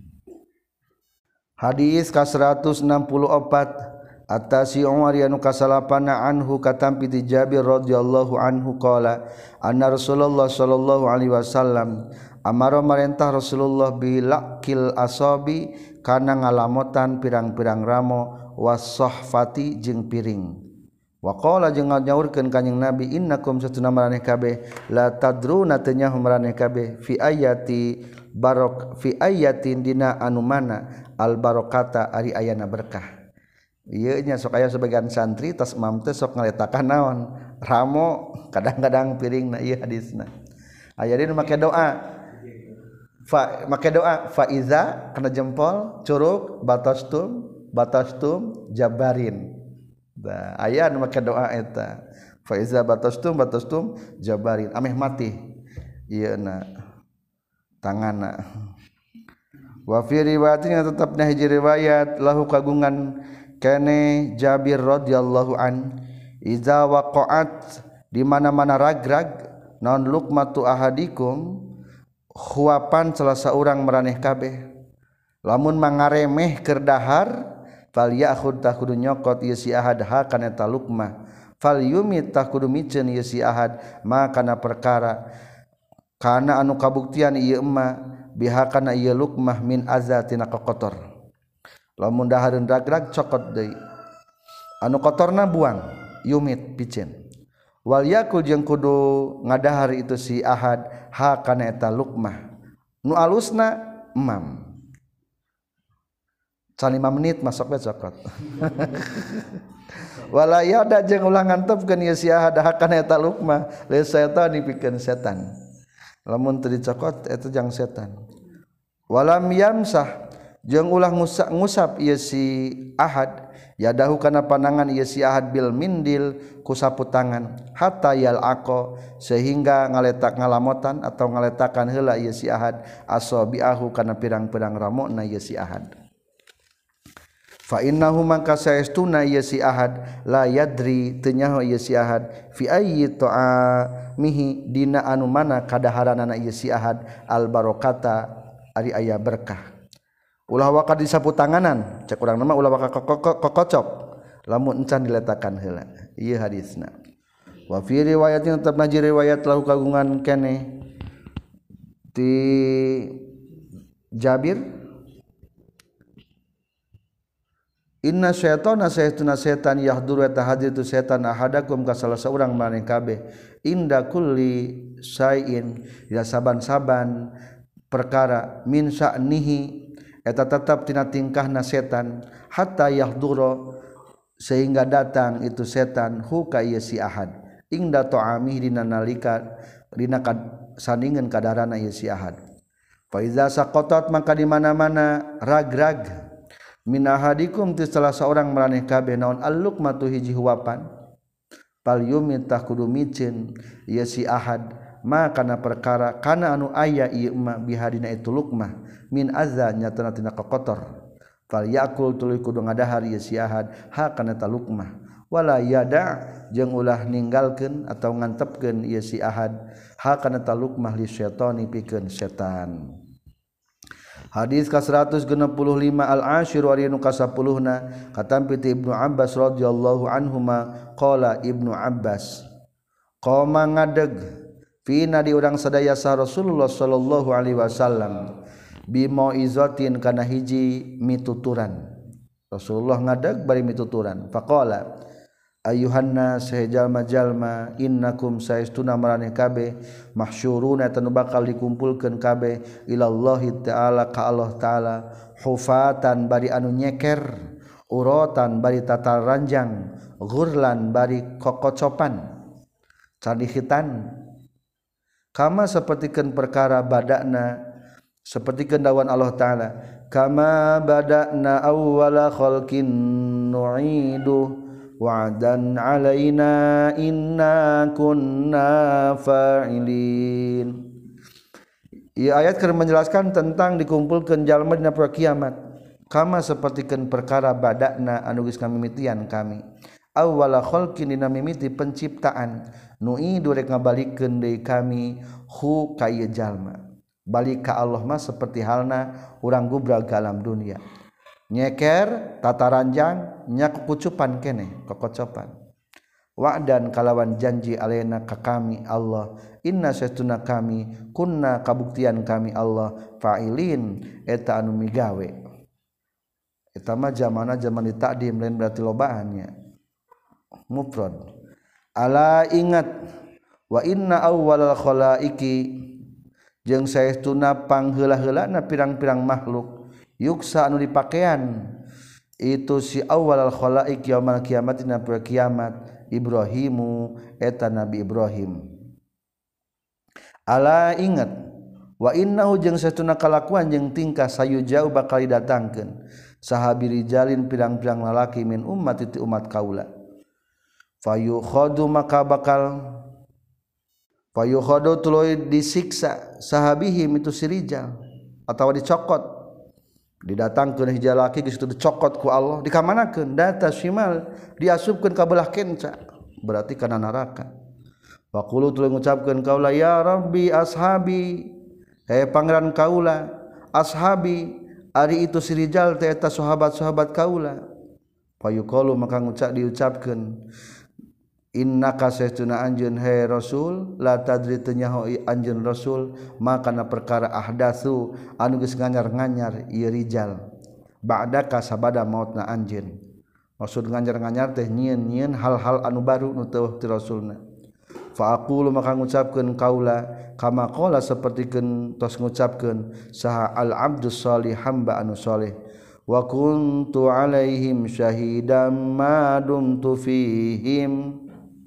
Hadis ka 164 Atasi Umar anu kasalapana anhu katampi ti Jabir radhiyallahu anhu qala anna Rasulullah sallallahu alaihi wasallam amara marentah Rasulullah bilaqil asabi kana ngalamotan pirang-pirang ramo wasahfati jeung piring wa qala jeung nyaurkeun kanjing Nabi innakum satuna maraneh kabeh la tadruna tanya maraneh kabeh fi ayati barok fi ayatin dina anu mana al barokata ari ayana berkah. Ieu nya sok aya sebagian santri tas imam teh sok ngaletakan naon ramo kadang-kadang piring na ieu hadisna aya dina make doa fa iza kana jempol curug batastum jabarin da aya nu make doa eta fa iza batastum jabarin ameh mati ieu na tanganna wa fi riwayatin tetepna hiji riwayat lahu kagungan kene Jabir radhiyallahu an iza waqa'at di mana-mana ragrag naon luqmatu ahadikum huapan salah seorang maraneh kabeh lamun mangaremeh keur dahar fal ya'khud tah kudu nyokot ieu si ahad ha kana eta luqmah fal yumit tah kudu miceun ieu si ahad ma kana perkara kana anu kabuktian ieu emma bihakana ieu luqmah min azatina kotor lamun dahareun ragrag cokot deui anu kotorna buang yumit picen wal yakul jeung kudu ngadahar itu si ahad ha kana eta luqmah nu alusna emam 5 menit masuk we cokot wala yada jeung ulah ngantepkeun ieu si ahad ha kana eta luqmah le setan dipikeun setan lamun teu dicokot eta jang setan walam yamsah jeung ulah ngusap ieu si ahad yadahu kana panangan ieu si ahad bil mindil ku sapu tangan hatta yalaqo sehingga ngaletak ngalamotan atau ngaletakan heula ieu si ahad asabiahu kana pirang-pirang ramona ieu si ahad fa innahu mangka saestuna ieu si ahad la yadri teu nyaho ieu si ahad fi ayyi ta'amihi dina anu mana kadaharanana ieu si ahad al barokata ari aya berkah ulah waka disapu tanganan cek urang nama ulah waka kokocok lamun encan diletakan heula ieu hadisna wa fi riwayatin tetep naji riwayat lahu kagungan kene ti Jabir inna syaitana saytuna setan yahduru eta hadir tu setan ahadakum ka salah seorang maneh kabeh inda kulli sain ya saban-saban perkara min sa'nihi eta tetap tina tingkahna setan hatta yahdura sehingga datang itu setan hu ka ieu si ahad ingda ta'amih dina nalika dina sandingeun kadarana ieu si ahad fa iza saqatat maka di mana-mana ragrag min ahadikum ti salah seorang maraneh kabeh naon al-luqmatu hiji huapan pal yumit tah kudu micin ieu si ahad ma kana perkara kana anu aya ieu ma bihadina itu luqmah min azza nyatana tina kotor fal yakul tuluy kudu ngadahar ieu si ahad ha kana ta luqmah wala yada jeung ulah ninggalkeun atau ngantepkeun ieu si ahad ha kana ta luqmah li syaitani pikeun setan hadis ka 165 al-ashir wa rinu ka 10na katampi ti Ibnu Abbas radhiyallahu anhuma qala Ibnu Abbas qoma ngadeg fina di urang sadaya sa Rasulullah sallallahu alaihi wasallam bimo izotin kana hiji mituturan Rasulullah ngadeg bari mituturan faqala ayuhanna sajalma-jalma innakum saestuna maraneh kabeh mahsyuruna tanu bakal dikumpulkeun kabeh ilallahi taala ka Allah taala hufatan bari anu nyeker uratan bari tatar ranjang ghurlan bari kokocopan cadihitan kama sapertikeun perkara badana sapertikeun dawan Allah taala kama badana awwala khalqin nu'idu wa'dan alaina inna kunna fa'ilin. Ieu ayat keur menjelaskan tentang dikumpulkeun jalma dina poe kiamat kama sapertikeun perkara badana anu geus kamimitian kami awwala khalqin dina mimiti penciptaan nu'idu rek ngabalikeun deui kami hu ka ieu jalma balik ka Allah mah seperti halna urang gubrag ka alam dunia nyeker tataranjang nya kucupan kene kokocopan wa'dan kalawan janji alaina ka kami Allah inna satuna kami kunna kabuktian kami Allah fa'ilin eta anu migawe eta mah zamana zaman ditakdim lain berarti lobaannya mufrad ala ingat wa inna awwalal khalaiqi jeung saestuna pangheula-heulana pirang-pirang makhluk yuksa anu dipakean itu si awwalal khalaiq yaumul kiamat dina poe kiamat Ibrahimu eta Nabi Ibrahim. Ala ingat wa innahu jeung satuna kalakuan jeung tingkah sayujau bakal didatangkeun sahabi rijalin pirang-pirang lalaki min ummat ti umat kaula fayukhadu maka bakal fayukhadu tuluy disiksa sahabihim itu si rijal atawa dicokot didatangkeun hiji lalaki geus dicokot ku Allah dikamanakeun data simal diasupkeun ka belah kenca berarti kana neraka. Faqulu tuluy ngucapkeun kaula ya rabbi ashabi pangeran kaula ashabi ari itu si rijal teh eta sahabat-sahabat kaula fayuqalu maka diucapkeun innaka saestuna anjeun he rasul la tadri teu nyaho anjeun rasul makana perkara ahdatsu anu geus nganyar-nganyar ieu rijal ba'daka sabada mautna anjeun maksud nganyar-nganyar teh nyieun-nyieun hal-hal anu baru nu teu ti rasulna fa aqulu maka ngucapkeun kaula kama qala sapertikeun tos ngucapkeun saha al abdus shalih hamba anu saleh wa kuntu alaihim syahidan ma dumtu fihim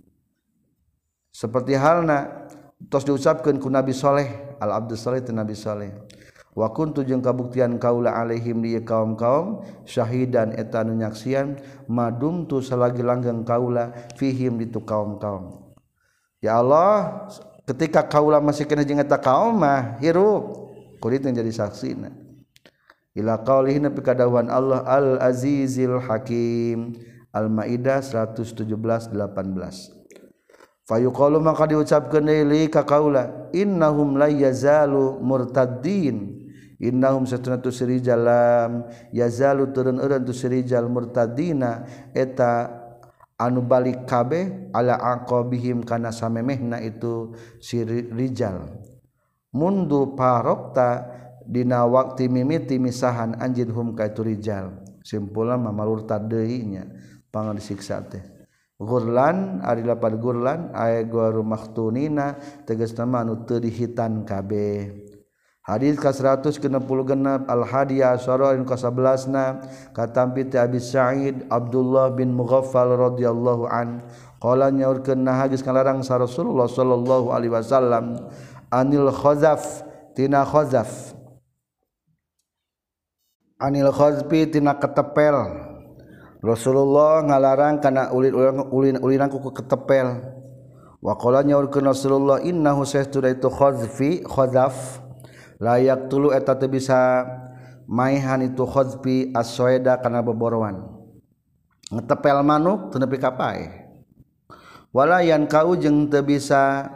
seperti halna tos diucapkeun ku nabi saleh al abdus saleh tu nabi saleh wa kuntu jeung kabuktian kaula alaihim di kaum-kaum syahidan eta anu nyaksian ma dumtu salagi langgeng kaula fihim di tu kaum-kaum. Ya Allah ketika kaula masih kena jeung eta kaum mah hirup kulit yang jadi saksina ila qaulihi nepi ka dawuhan Allah al azizil hakim al maidah 117:18 fayuqalu maka diucapkeun deui ka kaula innahum la yazalu murtaddin innahum satuna tu sirijalam yazalu turun eureun tu sirijal murtaddina eta anu balik kabeh ala aqabihim kana samemehna itu si rijal mundu parokta dina waktu mimiti misahan anjeun hum ka itu rijal simpulna mamalurtad deui nya pangan disiksa teh gurlan ari lapad gurlan aya guru maktunina tegasna anu teu dihitan kabeh. Hadis ka 166 al hadiyah asyara anu ka 11na katampi ti Abi Sa'id Abdullah bin Mughaffal radhiyallahu an qala nyaurkeun nah geus ngalarang sa Rasulullah sallallahu alaihi wasallam anil khazaf tina khazaf anil khazfi tina ketepel Rasulullah ngalarang kana ulin ku ketepel wa qala nyaurkeun Rasulullah innahu sayastuna itu khazfi khazaf layak tulu eta teu bisa maihan itu khazfi as-soeda kana boborowan ngetepel manuk teu nepi ka paeh wala yan kau jeung teu bisa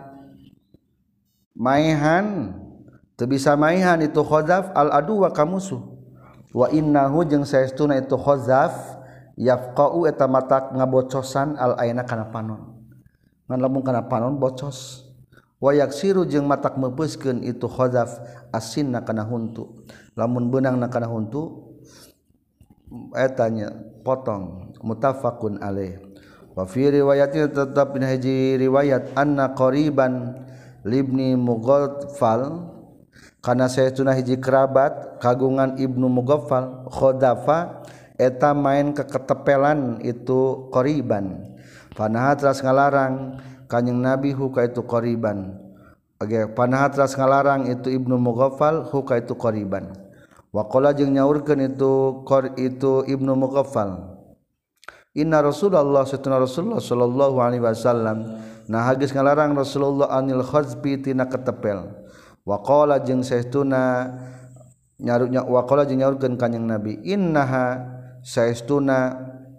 maihan itu khazaf al adu wa kamusuh wa innahu jeung saestuna itu khazaf yafqau eta matak ngabocosan al aina kana panon ngan lamun kana panon bocos wa yaksiru jeung matak meupeuskeun itu khazaf asinna kana huntu lamun beunangna kana huntu eta nya potong muttafaqun alaih wa fi riwayatin tetap dina hiji riwayat anna qariban libni Mughaffal kana saestuna hiji kerabat kagungan Ibnu Mughaffal khadafa eta main ke ketepelan itu qariban panaha teras ngalarang Kanjeng Nabi huka itu qariban. Panaha teras ngalarang itu Ibnu Mughaffal huka itu qariban. Wa qala jeung nyaurkeun itu Ibnu Mughaffal. Inna Rasulullah sallallahu alaihi wasallam nah geus ngalarang Rasulullah anil khazbi tina ketepel. Wa qala jeung saestuna nyaurkeun Kanjeng Nabi innaha saestuna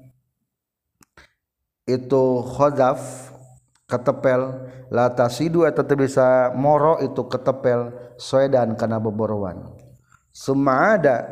itu khazaf ketepel la tasidu eta teu bisa moro itu ketepel soedan kana boborowan summa ada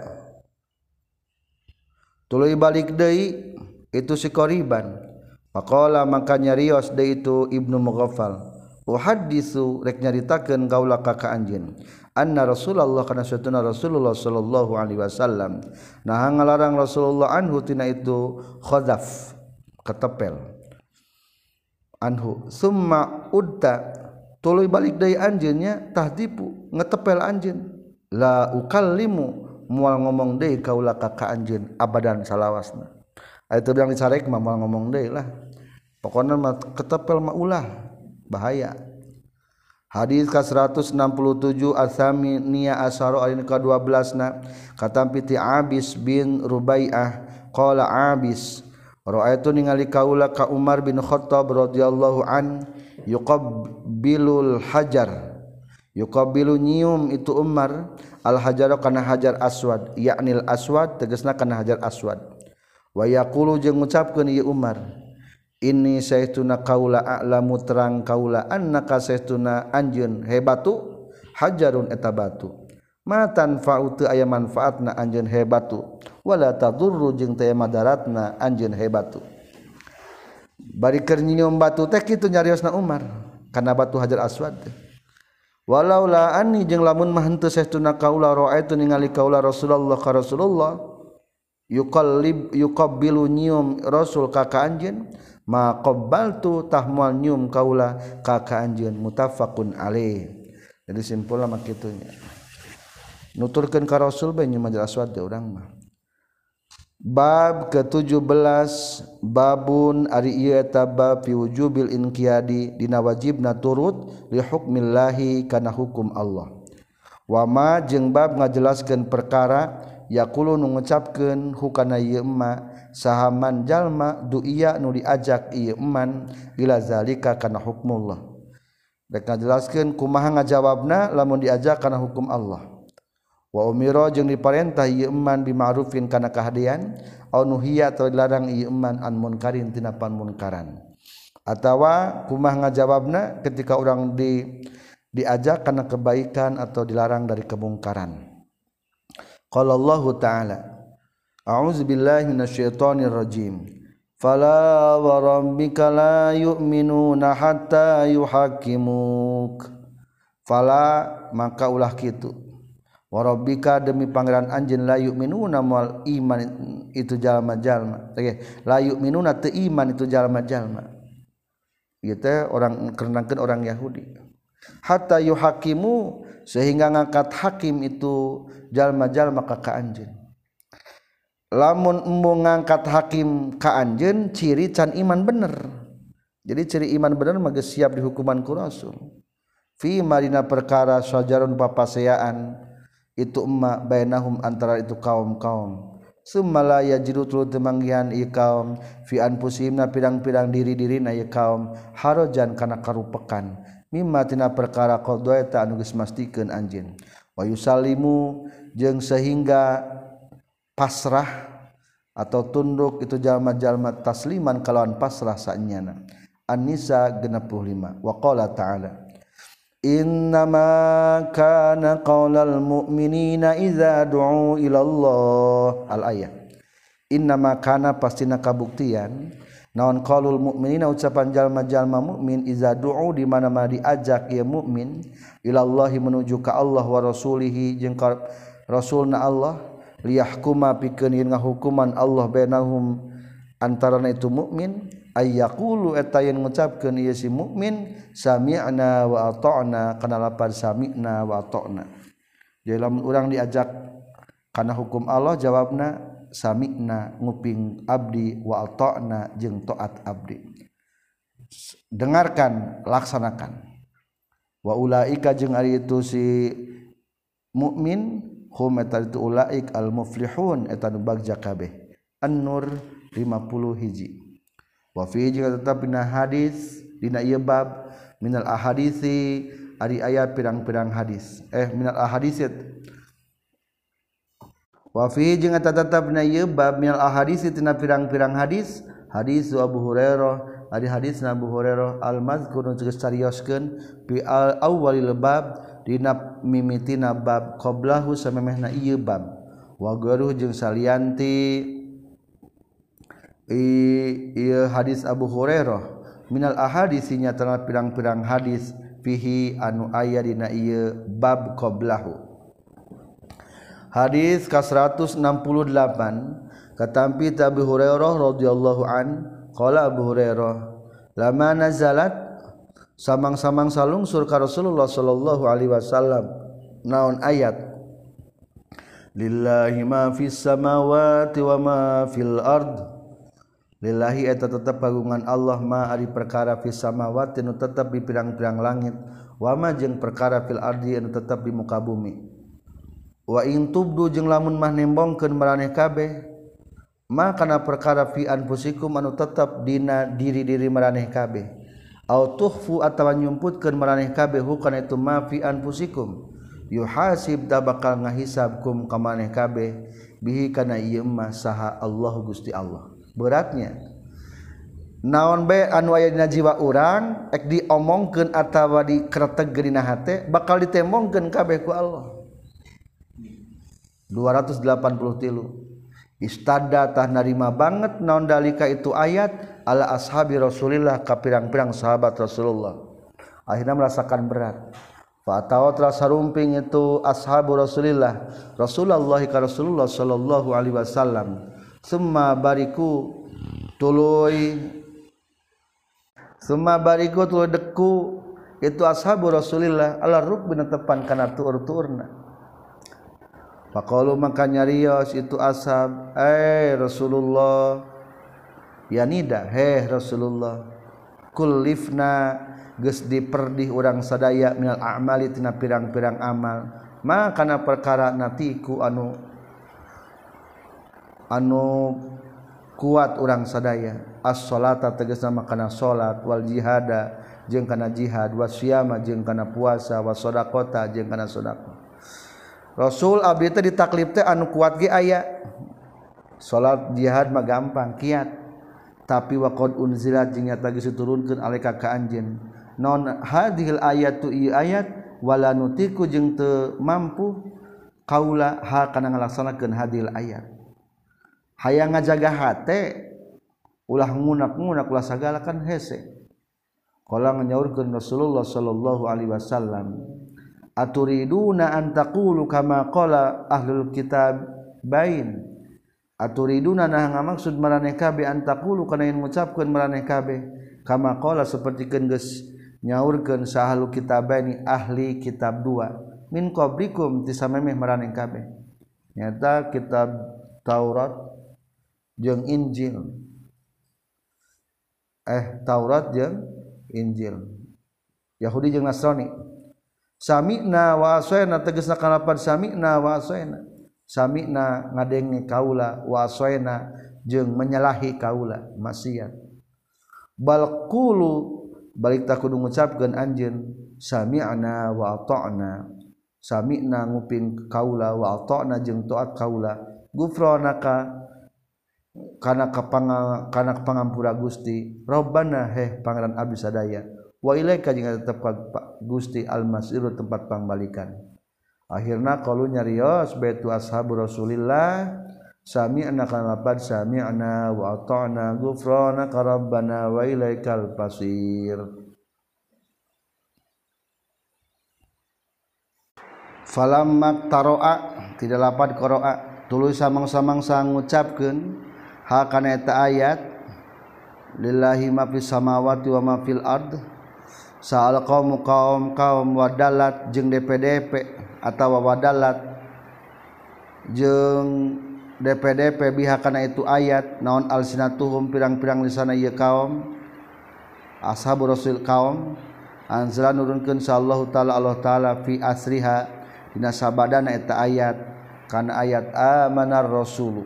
tuluy balik deui itu si qariban faqala maka nyarios deui itu Ibnu Mughaffal uhaddisu rek nyaritakeun kaula ka anjeun anna Rasulullah kana satuna Rasulullah sallallahu alaihi wasallam nah ngalarang Rasulullah anhu tina itu khazaf ketepel anhu summa udta tuluy balik deui anjeun nya tahdipu ngetepel anjeun la ukallimu moal ngomong deui kaula ka anjeun abadan salawasna aya teu bilang dicarek mah moal ngomong deui lah pokokna mah ketepel mah ulah bahaya. Hadis ka 167 As-Saminiyah Asyara alin ka 12na katampi ti Abis bin Rubai'ah qala Abis ra'aitu ningali kaula ka Umar bin Khattab radhiyallahu an yuqabbilul hajar yuqabbilu nyium itu Umar al hajar kana hajar aswad yaknil aswad tegasna kana hajar aswad wa yaqulu jeung ngucapkeun ieu Umar ini saestuna kaula a'lamu terang kaula annaka saestuna anjeun hebatu hajarun eta batu ma tanfa'u teu aya manfaatna anjeun hebatu wala tadurru jeung teu madaratna anjeun hebatu bari keur nyium batu teh kitu nyariosna Umar kana batu hajar aswad teh walau la anni jeung lamun mah henteu saestuna kaula ra'aitu ningali kaula Rasulullah ka Rasulullah yuqabbilu nyium Rasul ka anjeun ma qabbaltu tahmal nyum kaula ka anjeun muttafaqun alaih. Jadi simpulna mah kitu nya. Nuturkeun ka Rasul bae nyum hajar aswad teh urang mah. Bab ke-17 babun ari ieu eta bab fi wujubil inqiyadi dina wajibna turut li hukmillahi kana hukum Allah. Wa ma jeung bab ngajelaskeun perkara yaqulu nu ngucapkeun hukana ieu emma sahaman jalma du'iya nu diajak ieu eman ila zalika kana hukmullah rek ngajelaskeun kumaha ngajawabna lamun diajak kana hukum Allah wa umira jeung diparentah ieu eman bima'rufin kana kahadian au nuhiya atau dilarang ieu eman an munkarin tina panmunkaran atawa kumaha ngajawabna ketika urang diajak kana kebaikan atau dilarang dari kemungkaran. Qala Allah Ta'ala A'udzu billahi minasyaitonir rajim. Fala wa rabbika la yu'minuna hatta yuhakkimuk. Fala maka ulah kitu. Wa rabbika demi pangeran anjeun la yu'minuna moal iman itu jalma-jalma. La yu'minuna teu iman itu jalma-jalma. Ieu teh orang kerenangkeun orang Yahudi. Hatta yuhakkimu sehingga ngangkat hakim itu jalma-jalma ka anjeun. Lamun embung ngangkat hakim ka anjeun ciri can iman bener. Jadi ciri iman bener mah geus siap dihukuman ku Rasul. Fi marina perkara sajarun papaseaan itu emma bainahum antara itu kaum-kaum. Summa la yajidu tuluy temanggihan ieu kaum fi anfusihimna pirang-pirang diri-dirina ieu kaum harajan kana karupekan. Mimma tina perkara qadha ta anu geus mastikeun anjeun. Wa yusallimu jeung sehingga pasrah atau tunduk itu jalma-jalma tasliman kalawan pasrah saenyana. An-Nisa 65. Wa qala ta'ala Innama kana qaulal mu'minina idza du'u ila Allah al-ayah. Innama kana pastina kabuktian naon qaulul mu'minina ucapan jalma-jalma mukmin idza du'u di mana-mana diajak ya mukmin ila Allah menuju ka Allah wa rasulihi jeung ka rasulna Allah liyahkuma pikeun ngahukuman Allah bainahum antarana itu mukmin ayyaqulu eta yen ngucapkeun ieu si mukmin sami'na wa ata'na kana lapar sami'na wa ata'na. Jadi lamun urang diajak kana hukum Allah jawabna sami'na nguping abdi wa ata'na jeung taat abdi. Dengarkan laksanakan. Wa ulaika jeung ari itu si mukmin hum eta itu ulaik al muflihun eta nu bagja kabeh. An-Nur 50 hiji. Wa fi jeung tetep dina hadis dina ieu bab minal ahadisi ari aya pirang-pirang hadis. Minal ahadisi wa fi jeung tetep dina ieu bab minal ahadisi tina pirang-pirang hadis hadis Abu Hurairah ari hadis Abu Hurairah al-mazkur nu geus carioskeun fi al-awwalil bab dina mimitina bab qablahu samemehna ieu bab wa garuh jeung salianti ieu hadis Abu Hurairah minal ahadisinya tana pirang-pirang hadis fihi anu aya dina ieu bab qablahu. Hadis ka 168 katampi Abu Hurairah radhiyallahu an qala Abu Hurairah lama nazalat samang-samang salungsur ka Rasulullah sallallahu alaihi wasallam naon ayat lillahi ma fis samawati wa ma fil ard lillahi eta tetep kagungan Allah ma ari perkara fis samawati nu tetep di pirang-pirang langit wa ma jeung perkara fil ardi anu tetep di muka bumi wa in tubdu jeung lamun mah nembongkeun maraneh kabeh ma kana perkara fi anfusikum anu tetep dina diri-diri maraneh kabeh au tukhfu atawa nyumputkeun maraneh kabeh hukana itu ma fi anfusikum yuhasib da bakal ngahisabkum ka maneh kabeh bihi kana ieu mah saha Allah Gusti Allah. Beratnya naon bae anu aya dina jiwa urang ek diomongkeun atawa dikreteg dina hate bakal ditembongkeun kabeh ku Allah. 283 istada tah narima banget naon dalika itu ayat ala ashabi Rasulillah ka pirang-pirang sahabat Rasulullah akhirna merasakan berat fa atawa telah sarumping itu ashabu Rasulillah Rasulullah ka Rasulullah sallallahu alaihi wasallam summa bariku tuluy deku itu ashabu Rasulillah ala rukbina tepan kana tuur-tuurna faqalu maka nyarios itu ashab Rasulullah yanida Rasulullah kullifna geus diperdih urang sadaya minal a'mali tina pirang-pirang amal ma kana perkara natiku anu kuat urang sadaya as-sholata tegasna makana salat wal jihada jeung kana jihad wasyama jeung kana puasa wasodaqota jeung kana sedekah Rasul abdi teh ditaklif teh anu kuat ge aya salat jihad mah gampang kiat tapi waqad unzilat jeung nyata geus diturunkeun alika ka anjeun non hadhil ayatu ayat wala nutiku jeung teu mampu qaula ha kana ngalaksanakeun hadhil ayat hayang ngajaga hate ulah ngunak-ngunak ulah sagala kan hese qala nyaurkeun Rasulullah sallallahu alaihi wasallam aturiduna an taqulu kama qala ahlul kitab bain aturiduna nah ngamaksud maraneh kabeh an taqulu kana yen ngucapkeun maraneh kabeh kama qala sapertikeun geus nyaurkeun sahalu kitabaini ahli kitab 2 min qablikum tisamemeh maraneh kabeh nyata kitab Taurat jeung Injil Taurat jeung Injil Yahudi jeung Nasrani sami'na wa asayna tegasna kalapan sami'na wa asayna sami'na ngadenge kaula wa asayna jeung menyalahi kaula maksiat bal qulu balik tak kudu ngucapkeun anjeun sami'na wa ata'na sami'na nguping kaula wa ata'na jeung taat kaula gufranaka kana pangampura Gusti Rabbana pangeran abdi sadaya wa ilaika jeung tetep Gusti al-masiru tempat pangbalikan akhirna qalu nyarios baitu ashabu Rasulillah sami'na kana lapad sami'na wa ata'na ghufranaka rabbana wa ilaikal pasir falamma taroa tidak lapad qara'a tuluy samang-samangsa ngucapkeun ha kana eta ayat lillahi ma fis samawati wa ma fil ard sa'al qaum wadalat jeung DPDP atawa wadalat jeung DPDP biha kana itu ayat naon alsinatuhum pirang-pirang lisana ieu kaum ashabu rasul kaum anzala nurunkeun sallallahu taala Allah taala fi asriha dina sabadana eta ayat kana ayat amanar rasulu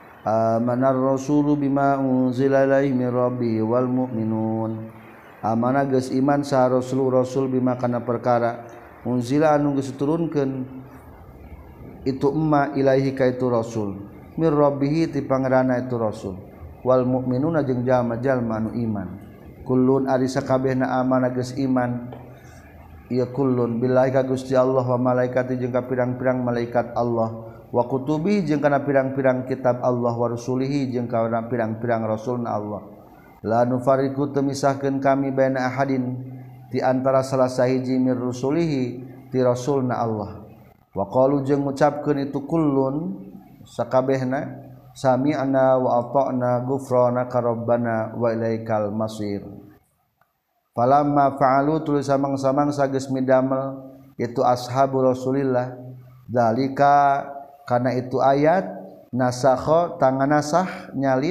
bima unzila ilaihi min rabbi wal mu'minun amana geus iman sa rasul bima kana perkara unzila anu geus diturunkeun itu emma ilaihi ka itu rasul mir rabbihi ti pangeranna itu rasul wal mu'minuna jeung jalma-jalma anu iman kullun ari sakabehna amana geus iman ieu kullun billahi ka Gusti Allah wa malaikati jeung ka pirang-pirang malaikat Allah wa kutubi jeung kana pirang-pirang kitab Allah wa rasulihi jeung kana pirang-pirang rasulna Allah la nufariqu temisahkeun kami baina ahadin di antara salah sahiji mir rusulihi ti rasulna Allah wa qalu jeung ngucapkeun itu kullun sakabehna sami'na wa ata'na ghufranaka rabbana wa ilaikal masir falamma fa'alu tuluy samang-samang sageus midamel itu ashabu Rasulillah dalika kana itu ayat nasakha tangan nasah nyalin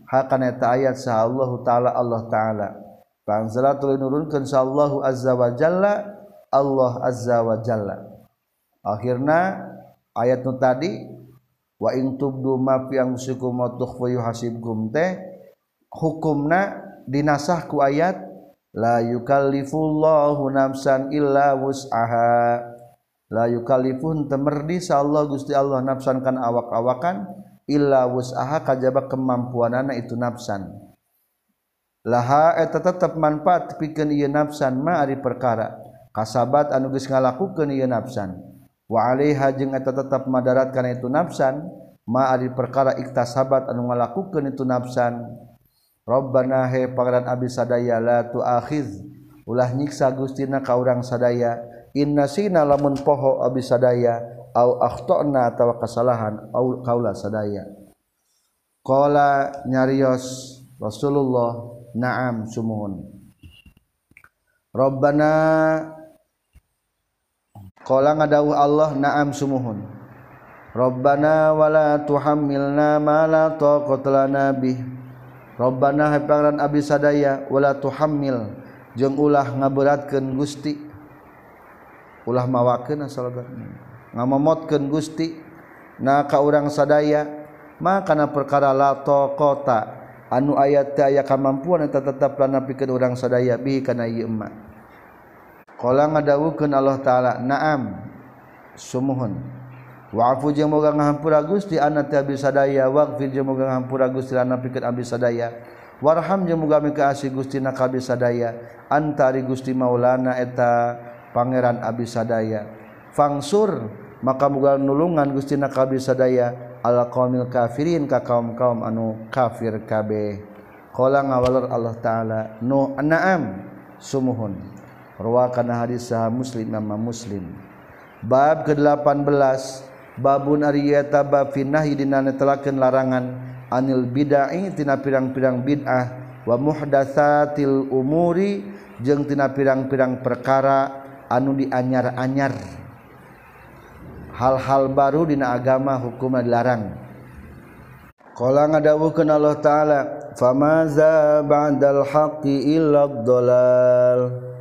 hakana eta ayat sa Allah taala Allah taala panzala tuluy nurunkeun sa Allah azza wa jalla Allah azza wa jalla akhirna ayat nu tadi wa in tubdu ma fi anfusikum wa tukhfu yuhasibkum teh hukumna dinasah ku ayat la yukallifullahu nafsan illa wus'aha la yukallifun temerdi sa Allah Gusti Allah nafsan kan awak-awakan illa wus'aha kajaba kemampuanana itu nafsan laha eta tetep manfaat pikeun ieu nafsan ma ari perkara kasabat anu geus ngalakukeun ieu nafsan wa alaiha jeung eta tetep madaratkan itu nafsan ma ari perkara iktasabat anu ngalakukeun itu nafsan Rabbana he pangeran abdi sadaya la tuakhiz ulah nyiksa Gustina ka urang sadaya inna sina lamun poho abdi sadaya au akhtana atawa kasalahan au kaula sadaya qala nyarios Rasulullah na'am sumuhun Rabbana qala ngadawuh Allah na'am sumuhun Rabbana wala tuhammilna ma la taqata lana bih Rabbana hai pangeran abdi sadaya wala tuhammil jeung ulah ngaberatkeun Gusti ulah mawakeun asal ngamomotkeun Gusti na ka urang sadaya makana perkara la taqata anu aya teh aya kamampuan eta tetep lana pikeun urang sadaya bi kana ieu emma qala ngadawuhkeun Allah taala na'am sumuhun wa'fu jeung moga ngahampura Gusti anna teh abdi sadaya waghfir jeung moga ngahampura Gusti lana pikeun abdi sadaya warham jeung moga mika asih Gusti na ka abdi sadaya antari Gusti maulana eta pangeran abdi sadaya fangsur maka moga nulungan Gusti na ka abdi sadaya ala qaumil kafirin ka kaum-kaum anu kafir kabeh qala ngawalur Allah taala nu na'am sumuhun rawakan hadis sahih Muslim Imam Muslim bab ke-18 babun ariyata bab finnahi dina netelakeun larangan anil bid'ah tina pirang-pirang bid'ah wa muhdatsatil umuri jeung tina pirang-pirang perkara anu dianyar-anyar hal-hal baru dina agama hukumna dilarang qala ngadawuhkeun Allah taala famaza ba'dal haqqi illa dhalal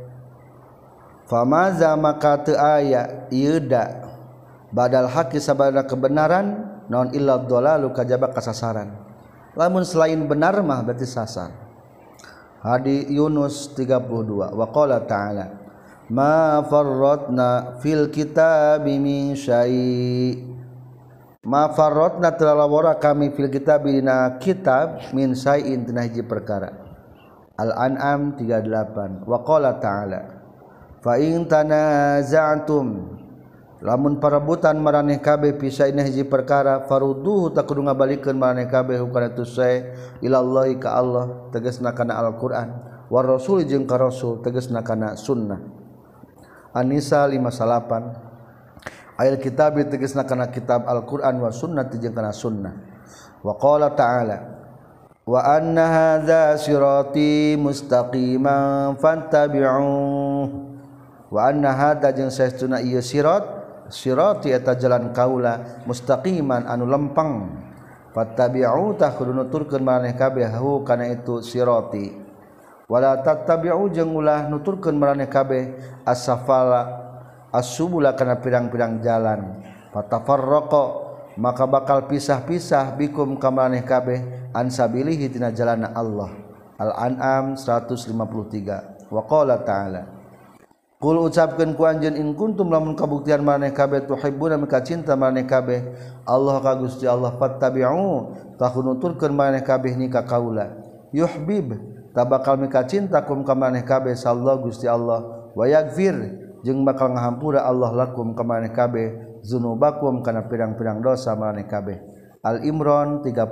famaza maka teu aya ieu da badal haqi sabada kebenaran naon illa dhalalu kajaba kasasaran lamun selain benar mah berarti sasar hadi Yunus 32 wa qala ta'ala ma farratna fil kitabi min syai ma farratna talawara kami fil kitabi dina kitab min syai'in tina hiji perkara Al-An'am 38 wa qala ta'ala fa in tanaza'tum lamun parebutan maraneh kabeh pisaina hiji perkara farudduhu tak kudu ngabalikeun maraneh kabeh hukana tu sae ilallahi ka Allah tegasna kana Al-Qur'an war rasul jeung ka rasul tegasna kana sunnah An-Nisa 58 ayat kitab tegasna kana kitab Al-Qur'an wa sunnah jeung kana sunnah wa qala ta'ala wa anna hadza sirati mustaqiman fattabi'uh wa anna hadza jeung saestuna ieu sirati eta jalan kaula mustaqiman anu lempeng fattabi'u tah kudu nuturkeun maraneh kabeh hu kana itu sirati wala tattabi'u jeung ulah nuturkeun maraneh kabeh as-safala as-subula kana pirang-pirang jalan fatafarraqa maka bakal pisah-pisah bikum ka maraneh kabeh an sabilihi tina jalanna Allah Al-An'am 153 wa qala ta'ala Qul ucapkeun ku anjeun in kuntum lamun kabuktian maraneh kabeh tuhibbuna mika cinta maraneh kabeh Allah ka Gusti Allah fattabi'u tahunuturkeun maraneh kabeh ni ka kaula yuhbib tabakal mika cinta kum ka maraneh kabeh sallallahu Gusti Allah wa yaghfir jeung bakal ngahampura Allah lakum ka maraneh kabeh dzunubakum kana pirang-pirang dosa maraneh kabeh Al-Imran 31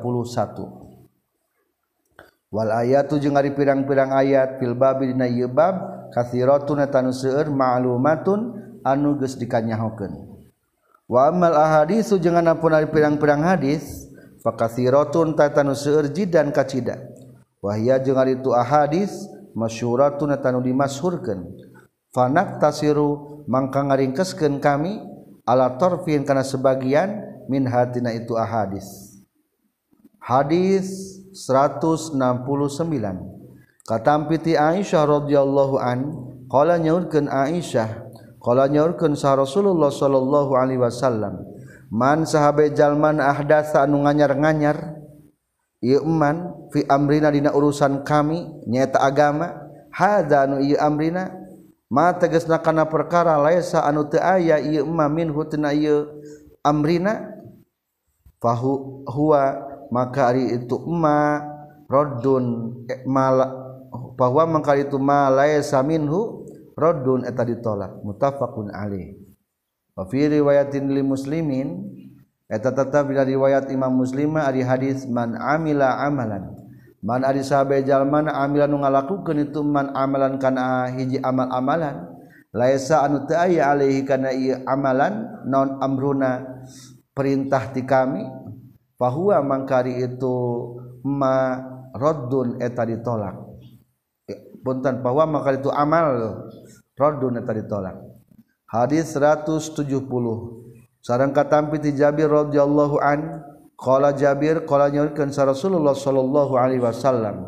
wal ayatu jeung ari pirang-pirang ayat fil babi dina ieu bab kathiratun eta nu seueur ma'lumatun anu geus dikanyahokeun wa amal ahaditsu jeung anapun ari pirang-pirang hadis fa kathiratun eta nu seueur jidan kacida wa hiya jeung ari tu ahadits masyhuratun eta nu dimasyhurkeun fa naktasiru mangka ngaringkeskeun kami ala tarfin kana sebagian min hatina itu ahadits Hadis 169 katampiti Aisyah radhiyallahu an qala nyaurkeun Aisyah qala nyaurkeun sa Rasulullah sallallahu alaihi wasallam man sahabe jalman ahdatsa anu nganyar-nganyar ieu man fi amrina dina urusan kami nyaeta agama hadza anu ieu amrina ma tegasna kana perkara laisa anu teu aya ieu ma minhu tina ieu amrina fahu huwa maka ari itu ma raddun bahwa maka itu ma laisa minhu raddun eta ditolak muttafaqun alaih wa fi riwayatin li muslimin eta tetap dina riwayat Imam Muslim ari hadis man amila amalan man ari sahabe jalma amila nu ngalakukeun itu man amalan kana hiji amal-amalan laisa anu teu aya alaihi kana ieu amalan non amruna perintah ti kami fahuwa mangkari itu ma raddun eta ditolak punten bahwa mangkari itu amal raddun eta ditolak hadis 170 sareng katampi ti Jabir radhiyallahu an qala Jabir qala nyaurkeun sa Rasulullah sallallahu alaihi wasallam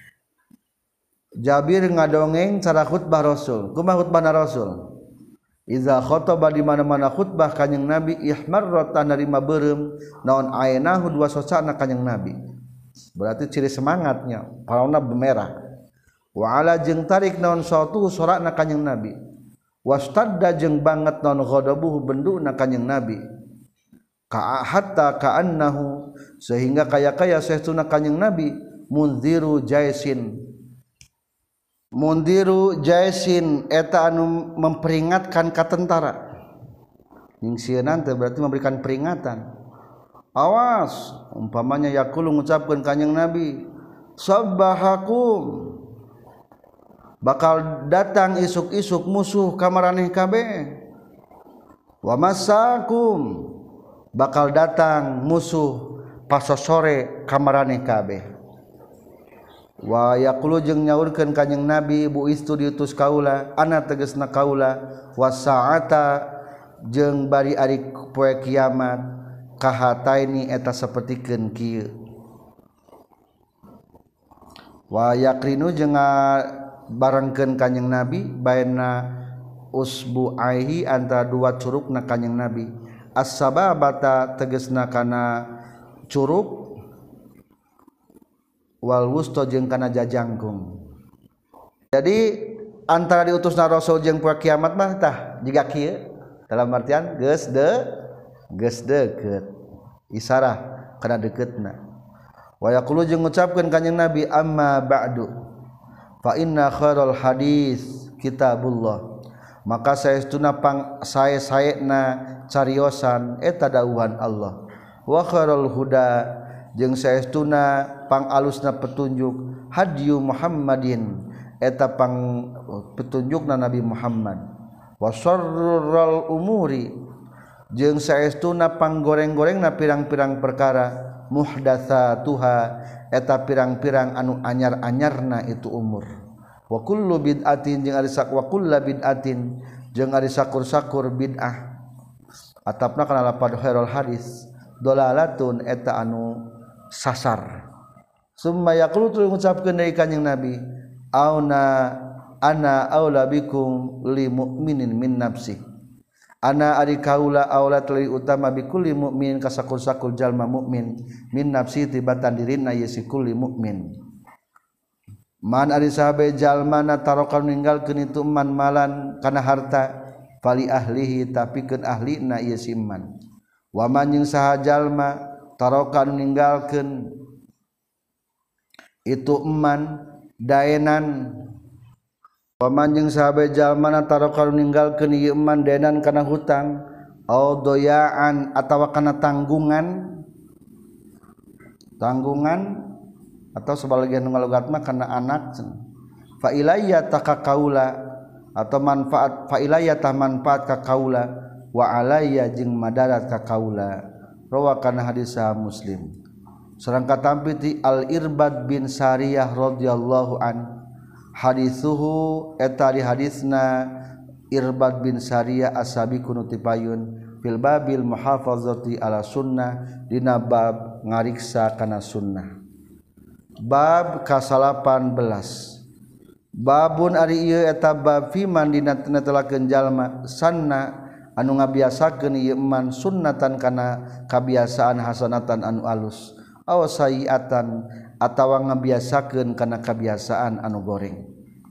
Jabir ngadongeng cara khutbah Rasul kumaha khutbahna Rasul iza khotaba di mana-mana khutbah kanjing Nabi ihmarrat narima beureum naon ainahu dua sosana kanjing Nabi berarti ciri semangatnya paraona bemerah wa ala jeung tarik naon sautu sorakna kanjing Nabi wastadda jeung banget naon ghadabuhu benduna kanjing Nabi ka hatta ka'annahu sehingga kaya-kaya saestuna kanjing Nabi munziru jaisin eta anu memperingatkan ka tentara ningsieun teh berarti memberikan peringatan awas umpamanya yaqulu ngucapkeun kanjing Nabi sabbahakum bakal datang isuk-isuk musuh ka maraneh kabeh wa masakum bakal datang musuh pasosore ka maraneh kabeh wa yaqulu jeung nyaurkeun kanjing Nabi buistu diutus kaula ana tegasna kaula wasaata jeung bari ari poe kiamat kahataini eta sapertikeun kieu wa yaqrinu jeung barengkeun kanjing Nabi baina usbu'aihi antara dua curugna kanjing Nabi as-sababata tegasna kana curug wal wusta jeung kana jajangkung jadi antara diutusna Rasul jeung poe kiamat mah tah jiga kieu dalam artian geus deukeut isarah kana dekeutna wa yaqulu jeung ngucapkeun kanjing Nabi amma ba'du fa inna khairal hadis kitabullah maka saestuna sae-saena cariosan eta dawuhan Allah wa khairul huda jeung saestuna pangalusna petunjuk hadyu Muhammadin eta pang petunjukna Nabi Muhammad wa syarrul umuri jeung saestuna panggoreng-gorengna pirang-pirang perkara muhdatsatuha eta pirang-pirang anu anyar-anyarna itu umur wa kullu bid'atin jeung ari wa kullu bid'atin jeung ari sakur-sakur bid'ah atapna kana lapad khairul hadis dolalatun eta anu sasar summa yaqulu tu ngucapkeun deui kanjing Nabi ana aula bikum li mu'minin min nafsi ana ari kaula aula teu utama bi kulli mukmin ka sakur-sakur jalma mukmin min nafsi tibatan dirina ye si kulli mukmin man ari sahabe jalmana tarokan ninggalkeun itu man malan kana harta fali ahlihi tapikeun ahlina ye si man wa man jeung saha jalma tarokan ninggalkeun itu eman daenan paman jeung sahabe jalmana tarokan ninggalkeun ieu eman daenan kana hutang au doyaan atawa kana tanggungan atau sebagian ngalogat mah kana anak fa ilayya takakaula atau manfaat fa ilayya tah manfaat ka kaula wa alayya jeung madarat ka kaula rawakan hadis Muslim sareng katampi ti Al-Irbad bin Sariyah radhiyallahu an hadithuhu eta di hadisna Irbad bin Sariyah asabiqun tipayun fil babil muhafazati ala sunnah dina bab ngariksa kana sunnah. Bab ka-18 babun ari ieu eta bab fi man dina netelakeun jalma sanna anu ngabiasakeun ieu man sunnatan kana kabiasaan hasanatan anu alus aw sayiatan atawa ngabiasakeun kana kabiasaan anu goreng.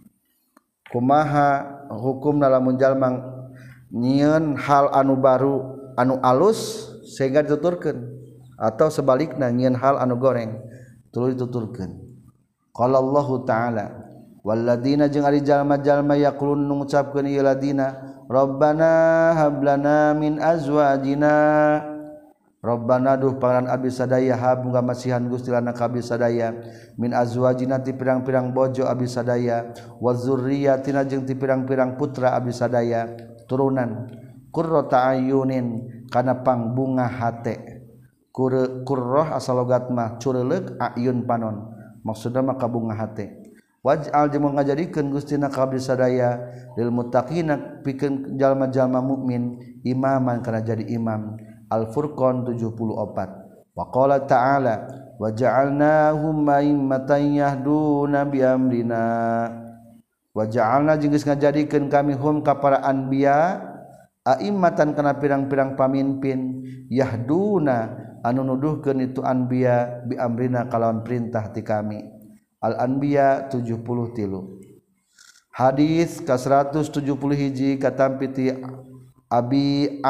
Kumaha hukumna lamun jalma nyieun hal anu baru anu alus sehingga dituturkeun atau sebalikna nyieun hal anu goreng tuluy dituturkeun. Qala Allahu ta'ala walladzina jeung ari jalma-jalma yaqulun ngucapkeun ieu ladina Rabbana hablana min azwajina Rabbana duh pangaran abdi sadaya hab muga masihan Gusti lana ka abdi sadaya min azwajina ti pirang-pirang bojo abdi sadaya wa dzurriyyatina jeung ti pirang-pirang putra abdi sadaya turunan qurrata ayunin kana pangbunga hate qurrah asal logat mah cureleuk ayun panon maksudna mah kabunga hate waj'al jeung ngajadikeun Gustina ka abdi sadaya lil muttaqina pikeun jalma-jalma mukmin imaman kana jadi imam. Al-Furqan 74. Wa qala ta'ala wa ja'alnahum a'immatan yahduna bi amrina wa ja'alna jeung geus ngajadikeun kami hum ka para anbiya a'immatan kana pirang-pirang pamimpin yahduna anu nuduhkeun itu anbiya bi amrina kalawan perintah ti kami. Al-Anbiya 73. Hadis ka 171 katampi ti Abi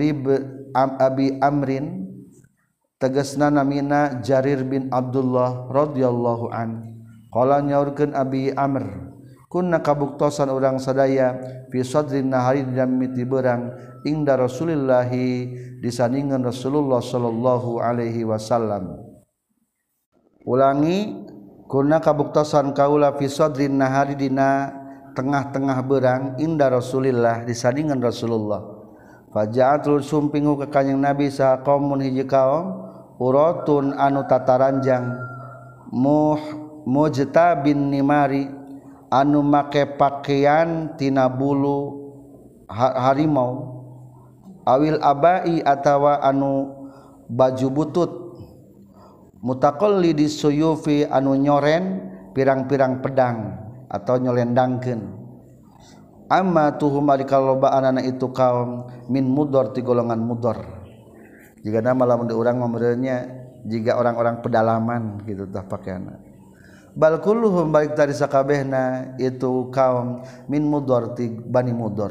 Amrin tegasna namina Jarir bin Abdullah radhiyallahu an. Qala nyaurkeun Abi Amr kunna kabuktosan urang sadaya fi sadrin nahari dina mimiti beurang ingda Rasulillah disandingan Rasulullah sallallahu alaihi wasallam. Ulangi kunna kabuktosan kaula fi sadrin nahari dina tengah-tengah beurang inda Rasulillah disandingan Rasulullah. Faja'atul sumpingu ka kanjing Nabi sa qaumun hiji kaum uratun anu tataranjang mujtabin nimari anu make pakaian tina bulu harimau awil abai atawa anu baju butut mutaqallidi suyufi anu nyoren pirang-pirang pedang atau nyolendangkeun amma tuhum ari kalobaan itu kaum min mudor ti golongan mudor jika nama lamun urang mameureunnya jika orang-orang pedalaman gitu tah pakaianna bal kulluhum baik tadi sakabehna itu kaum min mudor ti bani mudor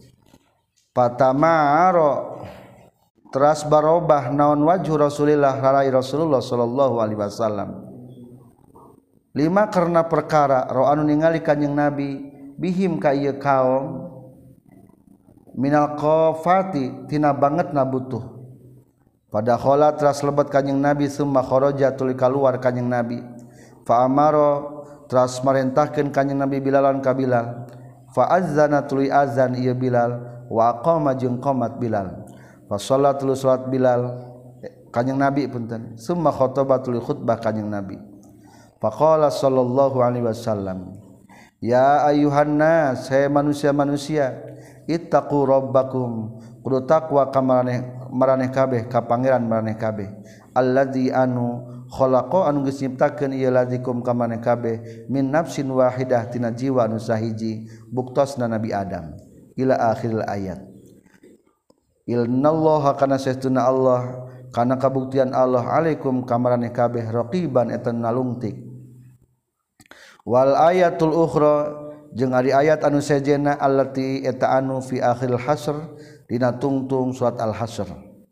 patamaro teras barobah naon wajhu Rasulillah harai Rasulullah sallallahu alaihi wasallam lima karena perkara roh anu ningali kanjing Nabi bihim ka ieu kaum minal qafati tina bangetna butuh pada khala teras lebat kanjing Nabi summa kharaja tuluy kaluar kanjing Nabi fa amaro teras marentahkeun kanjing Nabi Bilalan ka Bilal fa azzana tuluy azan ieu Bilal wa aqama jeung qomat Bilal fa shalat tuluy salat Bilal kanjing Nabi punten summa khataba tuluy khutbah kanjing Nabi faqala sallallahu alaihi wasallam ya ayuhan nas hai manusia-manusia ittaqu rabbakum kudu takwa ka maraneh kabeh ka pangeran maraneh kabeh alladzi anu khalaqa anu geus nyiptakeun ieu ladzikum ka maraneh kabeh min nafsin wahidah tina jiwa anu sahiji buktosna Nabi Adam ila akhiril ayat innallaha kana saestuna Allah kana kabuktian Allah alaikum ka maraneh kabeh raqiban eta nalungtik wal ayatul ukhra jeung ari ayat anu sejena allati eta anu fi akhiril hasr dina tungtung surat al-hasr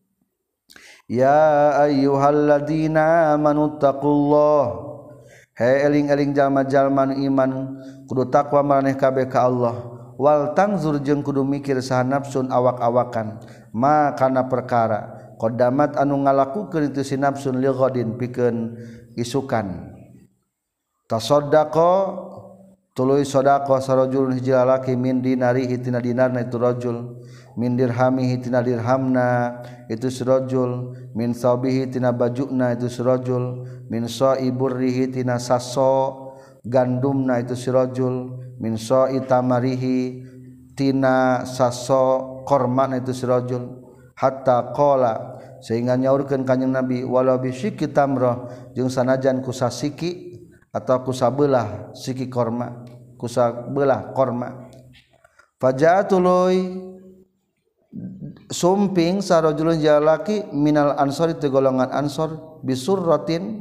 ya ayyuhalladzina amanu taqullah he eling-eling jalma-jalma iman kudu takwa maraneh kabeh ka Allah wal tanzur jeung kudu mikir saha nafsun awak-awakan ma kana perkara qaddamat anu ngalakukeun itu si nafsun li ghadin pikeun isukan tasaddaqa tuluy sedekah sarajul hiji lalaki min dinarihi tina dinarna itu rajul min dirhamihi tina dirhamna itu sarajul min sabihi tina bajuna itu sarajul min saiburrihi tina saso gandumna itu sarajul min sai tamarihi tina saso kormana itu sarajul hatta qala sehingga nyaurkeun kanjing Nabi walau bisyiki tamrah jeung sanajan ku sasiki atau ku sabelah siki korma ku sabelah korma faja'atului sumping sarojulun jalaki minal ansor itu golongan ansor bisurratin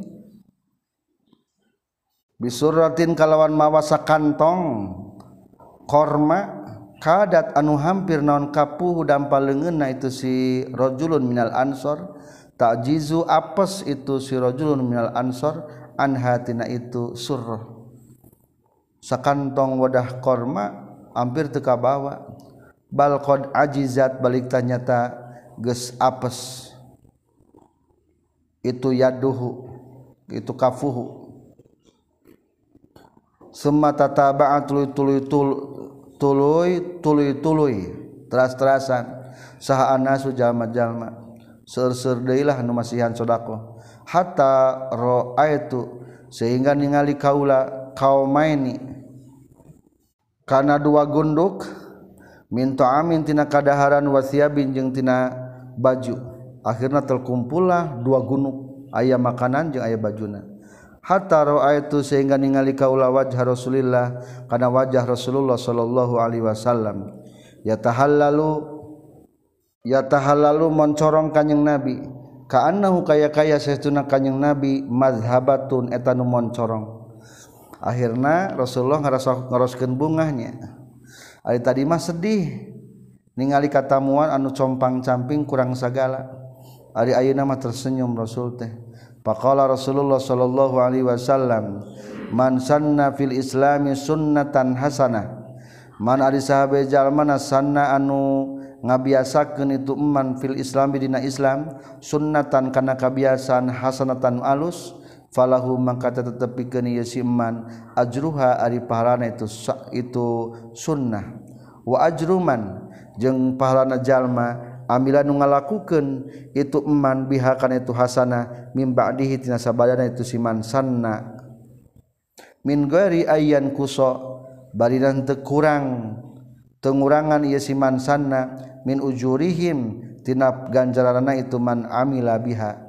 kalawan mawasa kantong korma kadat anu hampir naon kapuh dampal leungeunna itu si rajulun minal ansor ta'jizu apes itu si rajulun minal ansor anhatina itu surrah sakantong wadah korma hampir teu kabawa bal qad ajizat balik tanyata geus apes itu yaduhu itu kafuhu summa tataba'at tuluy teras-terasan saha anasu jalma-jalma seur-seur deui lah anu masihan sedekah hatta ra'aitu sehingga ningali kaula kaumaini kana dua gunduk minta amin tina kadaharan wasiabin jeung tina baju akhirna terkumpullah dua gunung aya makanan jeung aya bajuna hatta ra'aitu sehingga ningali kaula wajh Rasulillah kana wajah Rasulullah sallallahu alaihi wasallam yatahallalu moncorong kanjing Nabi kaannahu kaya saestuna kanjing Nabi mazhabatun eta nu moncorong akhirna Rasulullah ngaroskeun bungahnya ari tadi mah sedih ningali katamuan anu compang-camping kurang sagala ari ayeuna mah tersenyum Rasul teh faqala Rasulullah sallallahu alaihi wasallam man sanna fil islami sunnatan hasanah man ari sahabe jalmana sanna anu ngabiasakeun itu man fil islam dina Islam sunnatan kana kabiasaan hasanatan alus falahu mangka tetepikeun ieu si man ajruha ari pahalana itu sunnah wa ajruman jeung pahalana jalma amila nu ngalakukeun itu man biha kana itu hasanah mim ba'dihi tina sabadana itu si man sanna min ghairi ayyan kuso baridan teu kurang teu ngurangan ieu si man sanna min ujurihim tina ganjaranna itu man amila biha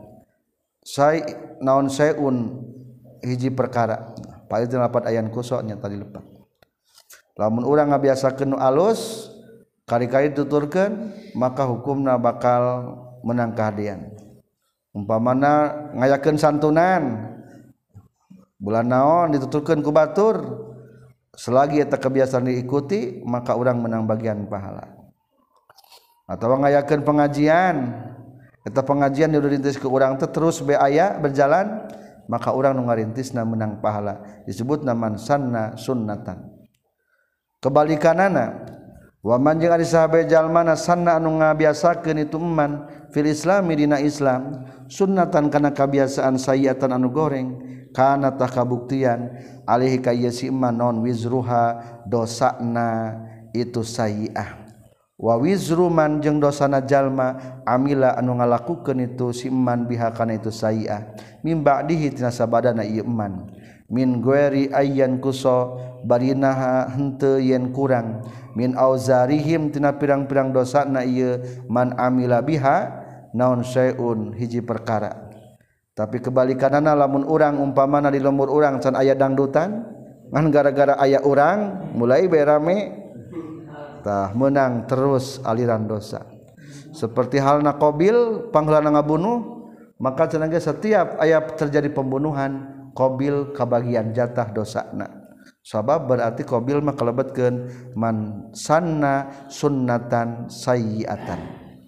naon sayun hiji perkara paling lapat ayan kusoknya tadi lepat lamun urang ngabiasakeun nu alus kari-kari tuturkeun maka hukumna bakal menang kahadian umpamana ngayakeun santunan bulan naon dituturkeun ku batur selagi eta kebiasaan diikuti maka urang menang bagian pahala atawa ngayakeun pengajian eta pengajian nu dirintis ke urang teh terus be aya berjalan maka urang nu ngarintisna menang pahala disebutna man sanna sunnatan kebalikanana wa man jeung ari sahabe jalmana sanna anu ngabiasakeun itu man fil islami dina Islam sunnatan kana kabiasaan sayiatan anu goreng kana tah kabuktian alaihi ka ieu si man non wizruha dosana itu sayiah wa wizru man jeung dosana jalma amila anu ngalakukeun itu si man biha kana itu sayiah mim ba'dihi tina sabadana ieu man min ghairi ayyan kuso barinaha henteu yen kurang min auzarihim tina pirang-pirang dosana ieu man amila biha naon sayun hiji perkara tapi kebalikanana lamun urang umpamana di lembur urang can aya dangdutan ngan gara-gara aya urang mulai bae rame tah menang terus aliran dosa seperti halna Qabil pangheulana ngabunuh maka cenah ge setiap aya terjadi pembunuhan Qabil kabagian jatah dosana sabab berarti Qabil mah kalebetkeun man sanna sunnatan sayyiatan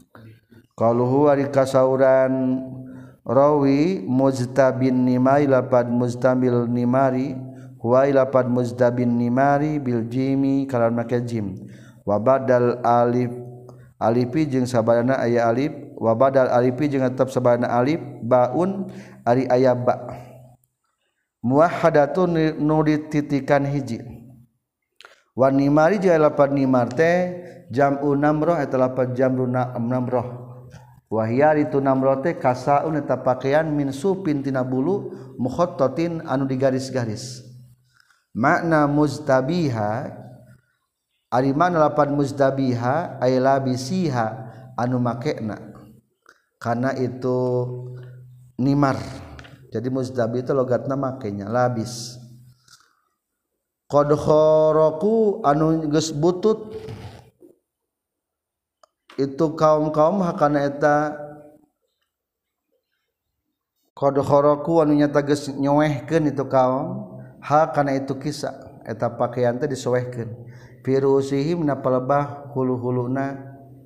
qaluhu ari kasauran rawi mujtabin nimai lapad mustamil nimari huwa lapad muzdabin nimari bil jimi kalan make jim wa badal alif alifi jeung sabadana aya alif wa badal alifi jeung tetep sabadana alif baun ari aya ba muwahhadatun nu dititikan hiji wa nimari jeung lapad nimar teh jam'u namroh eta lapad jam'u namroh wa hiya itu namroh teh kasaun eta pakaian min supin tina bulu mukhattatin anu digaris-garis makna mustabiha ari mana lapan muzdabiha ay labisiha anu makena karena itu nimar. Jadi muzdabi itu logatna makenya labis. Qad kharaku anu geus butut itu kaum-kaum hakana eta qad kharaku anu nyata geus nyoehkeun itu kaum hakana itu kisah eta pakaian teh disoehkeun firusihim na palebah hulu-huluna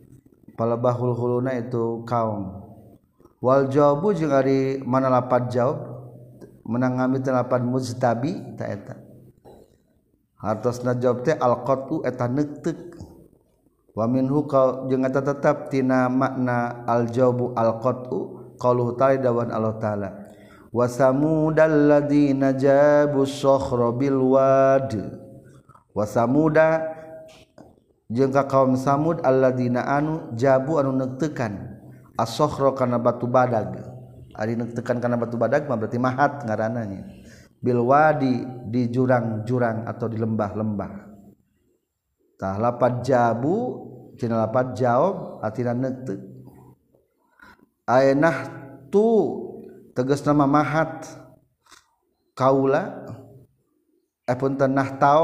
itu kaum wal jawabu jeung ari mana lapad jawab menang ngamit lapad muztabi ta eta hartosna jawab teh alqatu eta neuteuk wa minhu jeung eta tetep tina makna aljawabu alqatu qauluhu ta'ala dawan Allah taala wa samudal ladzina jabu sakhra bil wad wa samuda jeung ka kaum samud alladzina anu jabu anu neuteukan as-sakhra kana batu badag ari neuteukan kana batu badag mah berarti mahat ngaranna bil wadi di jurang-jurang atau di lembah-lembah. Tah lapad jabu tina lapad jawab artina neuteuk. Ayeunah tu tegasna mahat kaula punten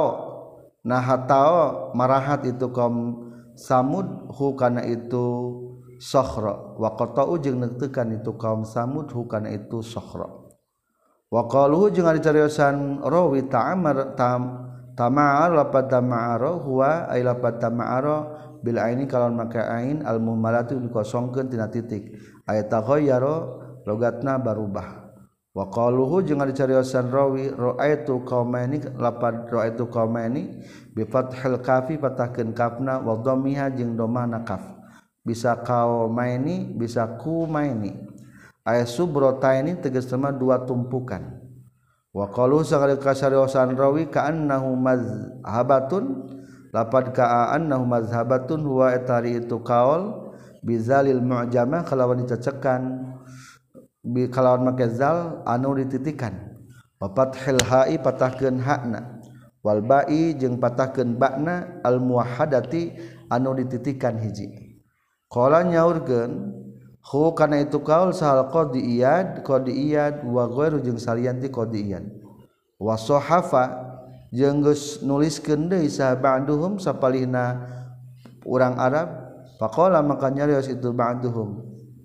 nahtao marahat itu kaum samud hu kana itu sakhra wa qata'u jeung neutekan itu kaum samud hu kana itu sakhra. Wa qaluhu jeung ari cariosan rawi tama'ar lapad tama'ara huwa ay lapad tama'ara bil aini kalawan make ain al muhmalatu dikosongkeun tina titik ayat taghayyara logatna barubah. Wa qaluhu jeung ari cariosan rawi ra'aitu qaumaini lapad ra'aitu qaumaini bi fathil kafi patahkeun kafna wa dhammiha jeung dhammana kaf bisa qaumaini bisa kumaini aya subrotaini tegasna dua tumpukan. Wa qalu sagala kasariosan rawi ka'annahu mazhabatun lapad ka'annahu mazhabatun huwa etari itu qaul bizalil mu'jamah kalawan dicecekan bi kalawan make zal anu dititikan wa fathil ha'i patahkeun hakna wal ba'i jeung patahkeun ba'na al muwahhadati anu dititikan hiji. Qala nyaurkeun hu kana itu kaul sahal qadiyad wa ghairu jeung salianti qadiyad wa sahafa jeung geus nuliskeun deui sa ba'duhum sapalihna urang Arab faqala maka nyarios itu ba'duhum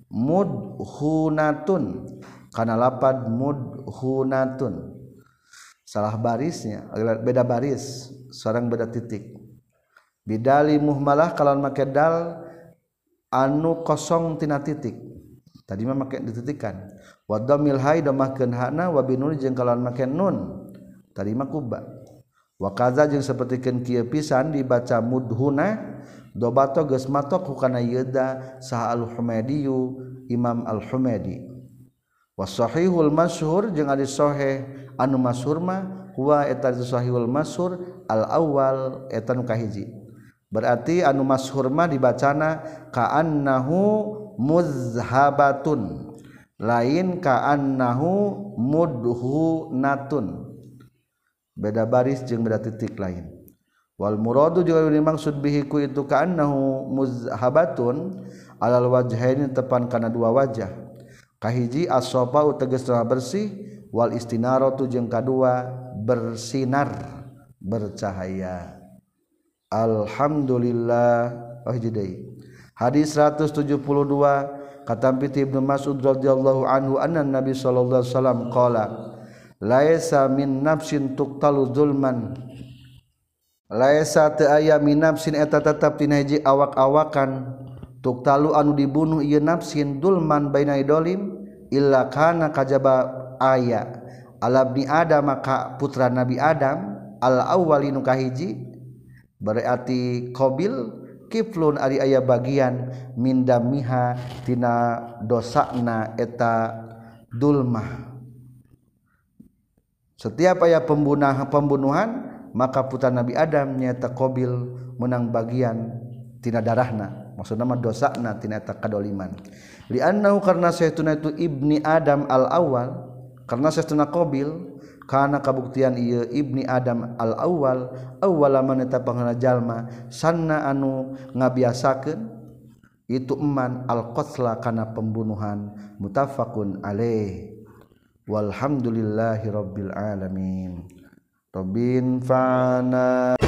mudhunatun kana lapad mudhunatun salah barisnya beda baris sareng beda titik bidali muhmalah kalawan make dal anu kosong tina titik tadi mah make dititikan wa dhammil hai damahkeun hakna wa binun jeung kalawan make nun tadi mah kubba wa kaza jeung sapertikeun kieu pisan dibaca mudhuna dobato geus matok hukana yeuda sah al-Humaidi Imam al-Humaidi wa sahihul masyhur jeung ari sahih anu masyhur mah huwa eta sahihul masyhur al-awwal eta nu kahiji. Berarti anu masyhur mah dibacana ka'annahu muzhabatun lain ka'annahu mudhunatun beda baris jeung beda titik lain wal muradu jeung dimaksud bihi ku itu ka'annahu muzhabatun alal wajhaini tepan kana dua wajah kahiji as-safa tegasna bersih wal istinaratu jeung kadua bersinar bercahaya. Alhamdulillah hadis 172 katampi Ibnu Mas'ud radhiyallahu anhu anna Nabi sallallahu alaihi wasallam qala laisa min nafsin tuqtalu zulman laisa ta aya min nafsin eta tetep tina hiji awak-awakan tuqtalu anu dibunuh ieu nafsin dulman baina idolim illa kana kajaba aya ala ibni adam ka putra Nabi Adam al awwalinu kahiji berarti qabil kiflun ari aya bagian min damiha tina dosana eta dulmah setiap aya pembunuhan maka putra Nabi Adam nyaeta qabil menang bagian tina darahna maksudna mah dosana tina eta kadoliman li annahu karna saestuna itu ibni Adam al awal karna saestuna qabil kana kabuktian ieu ibni Adam al awal awwala man eta panghana jalma sanna anu ngabiasakeun itu eman al-qatla kana pembunuhan muttafaqun alaih walhamdulillahi rabbil alamin Rabbin fa'ana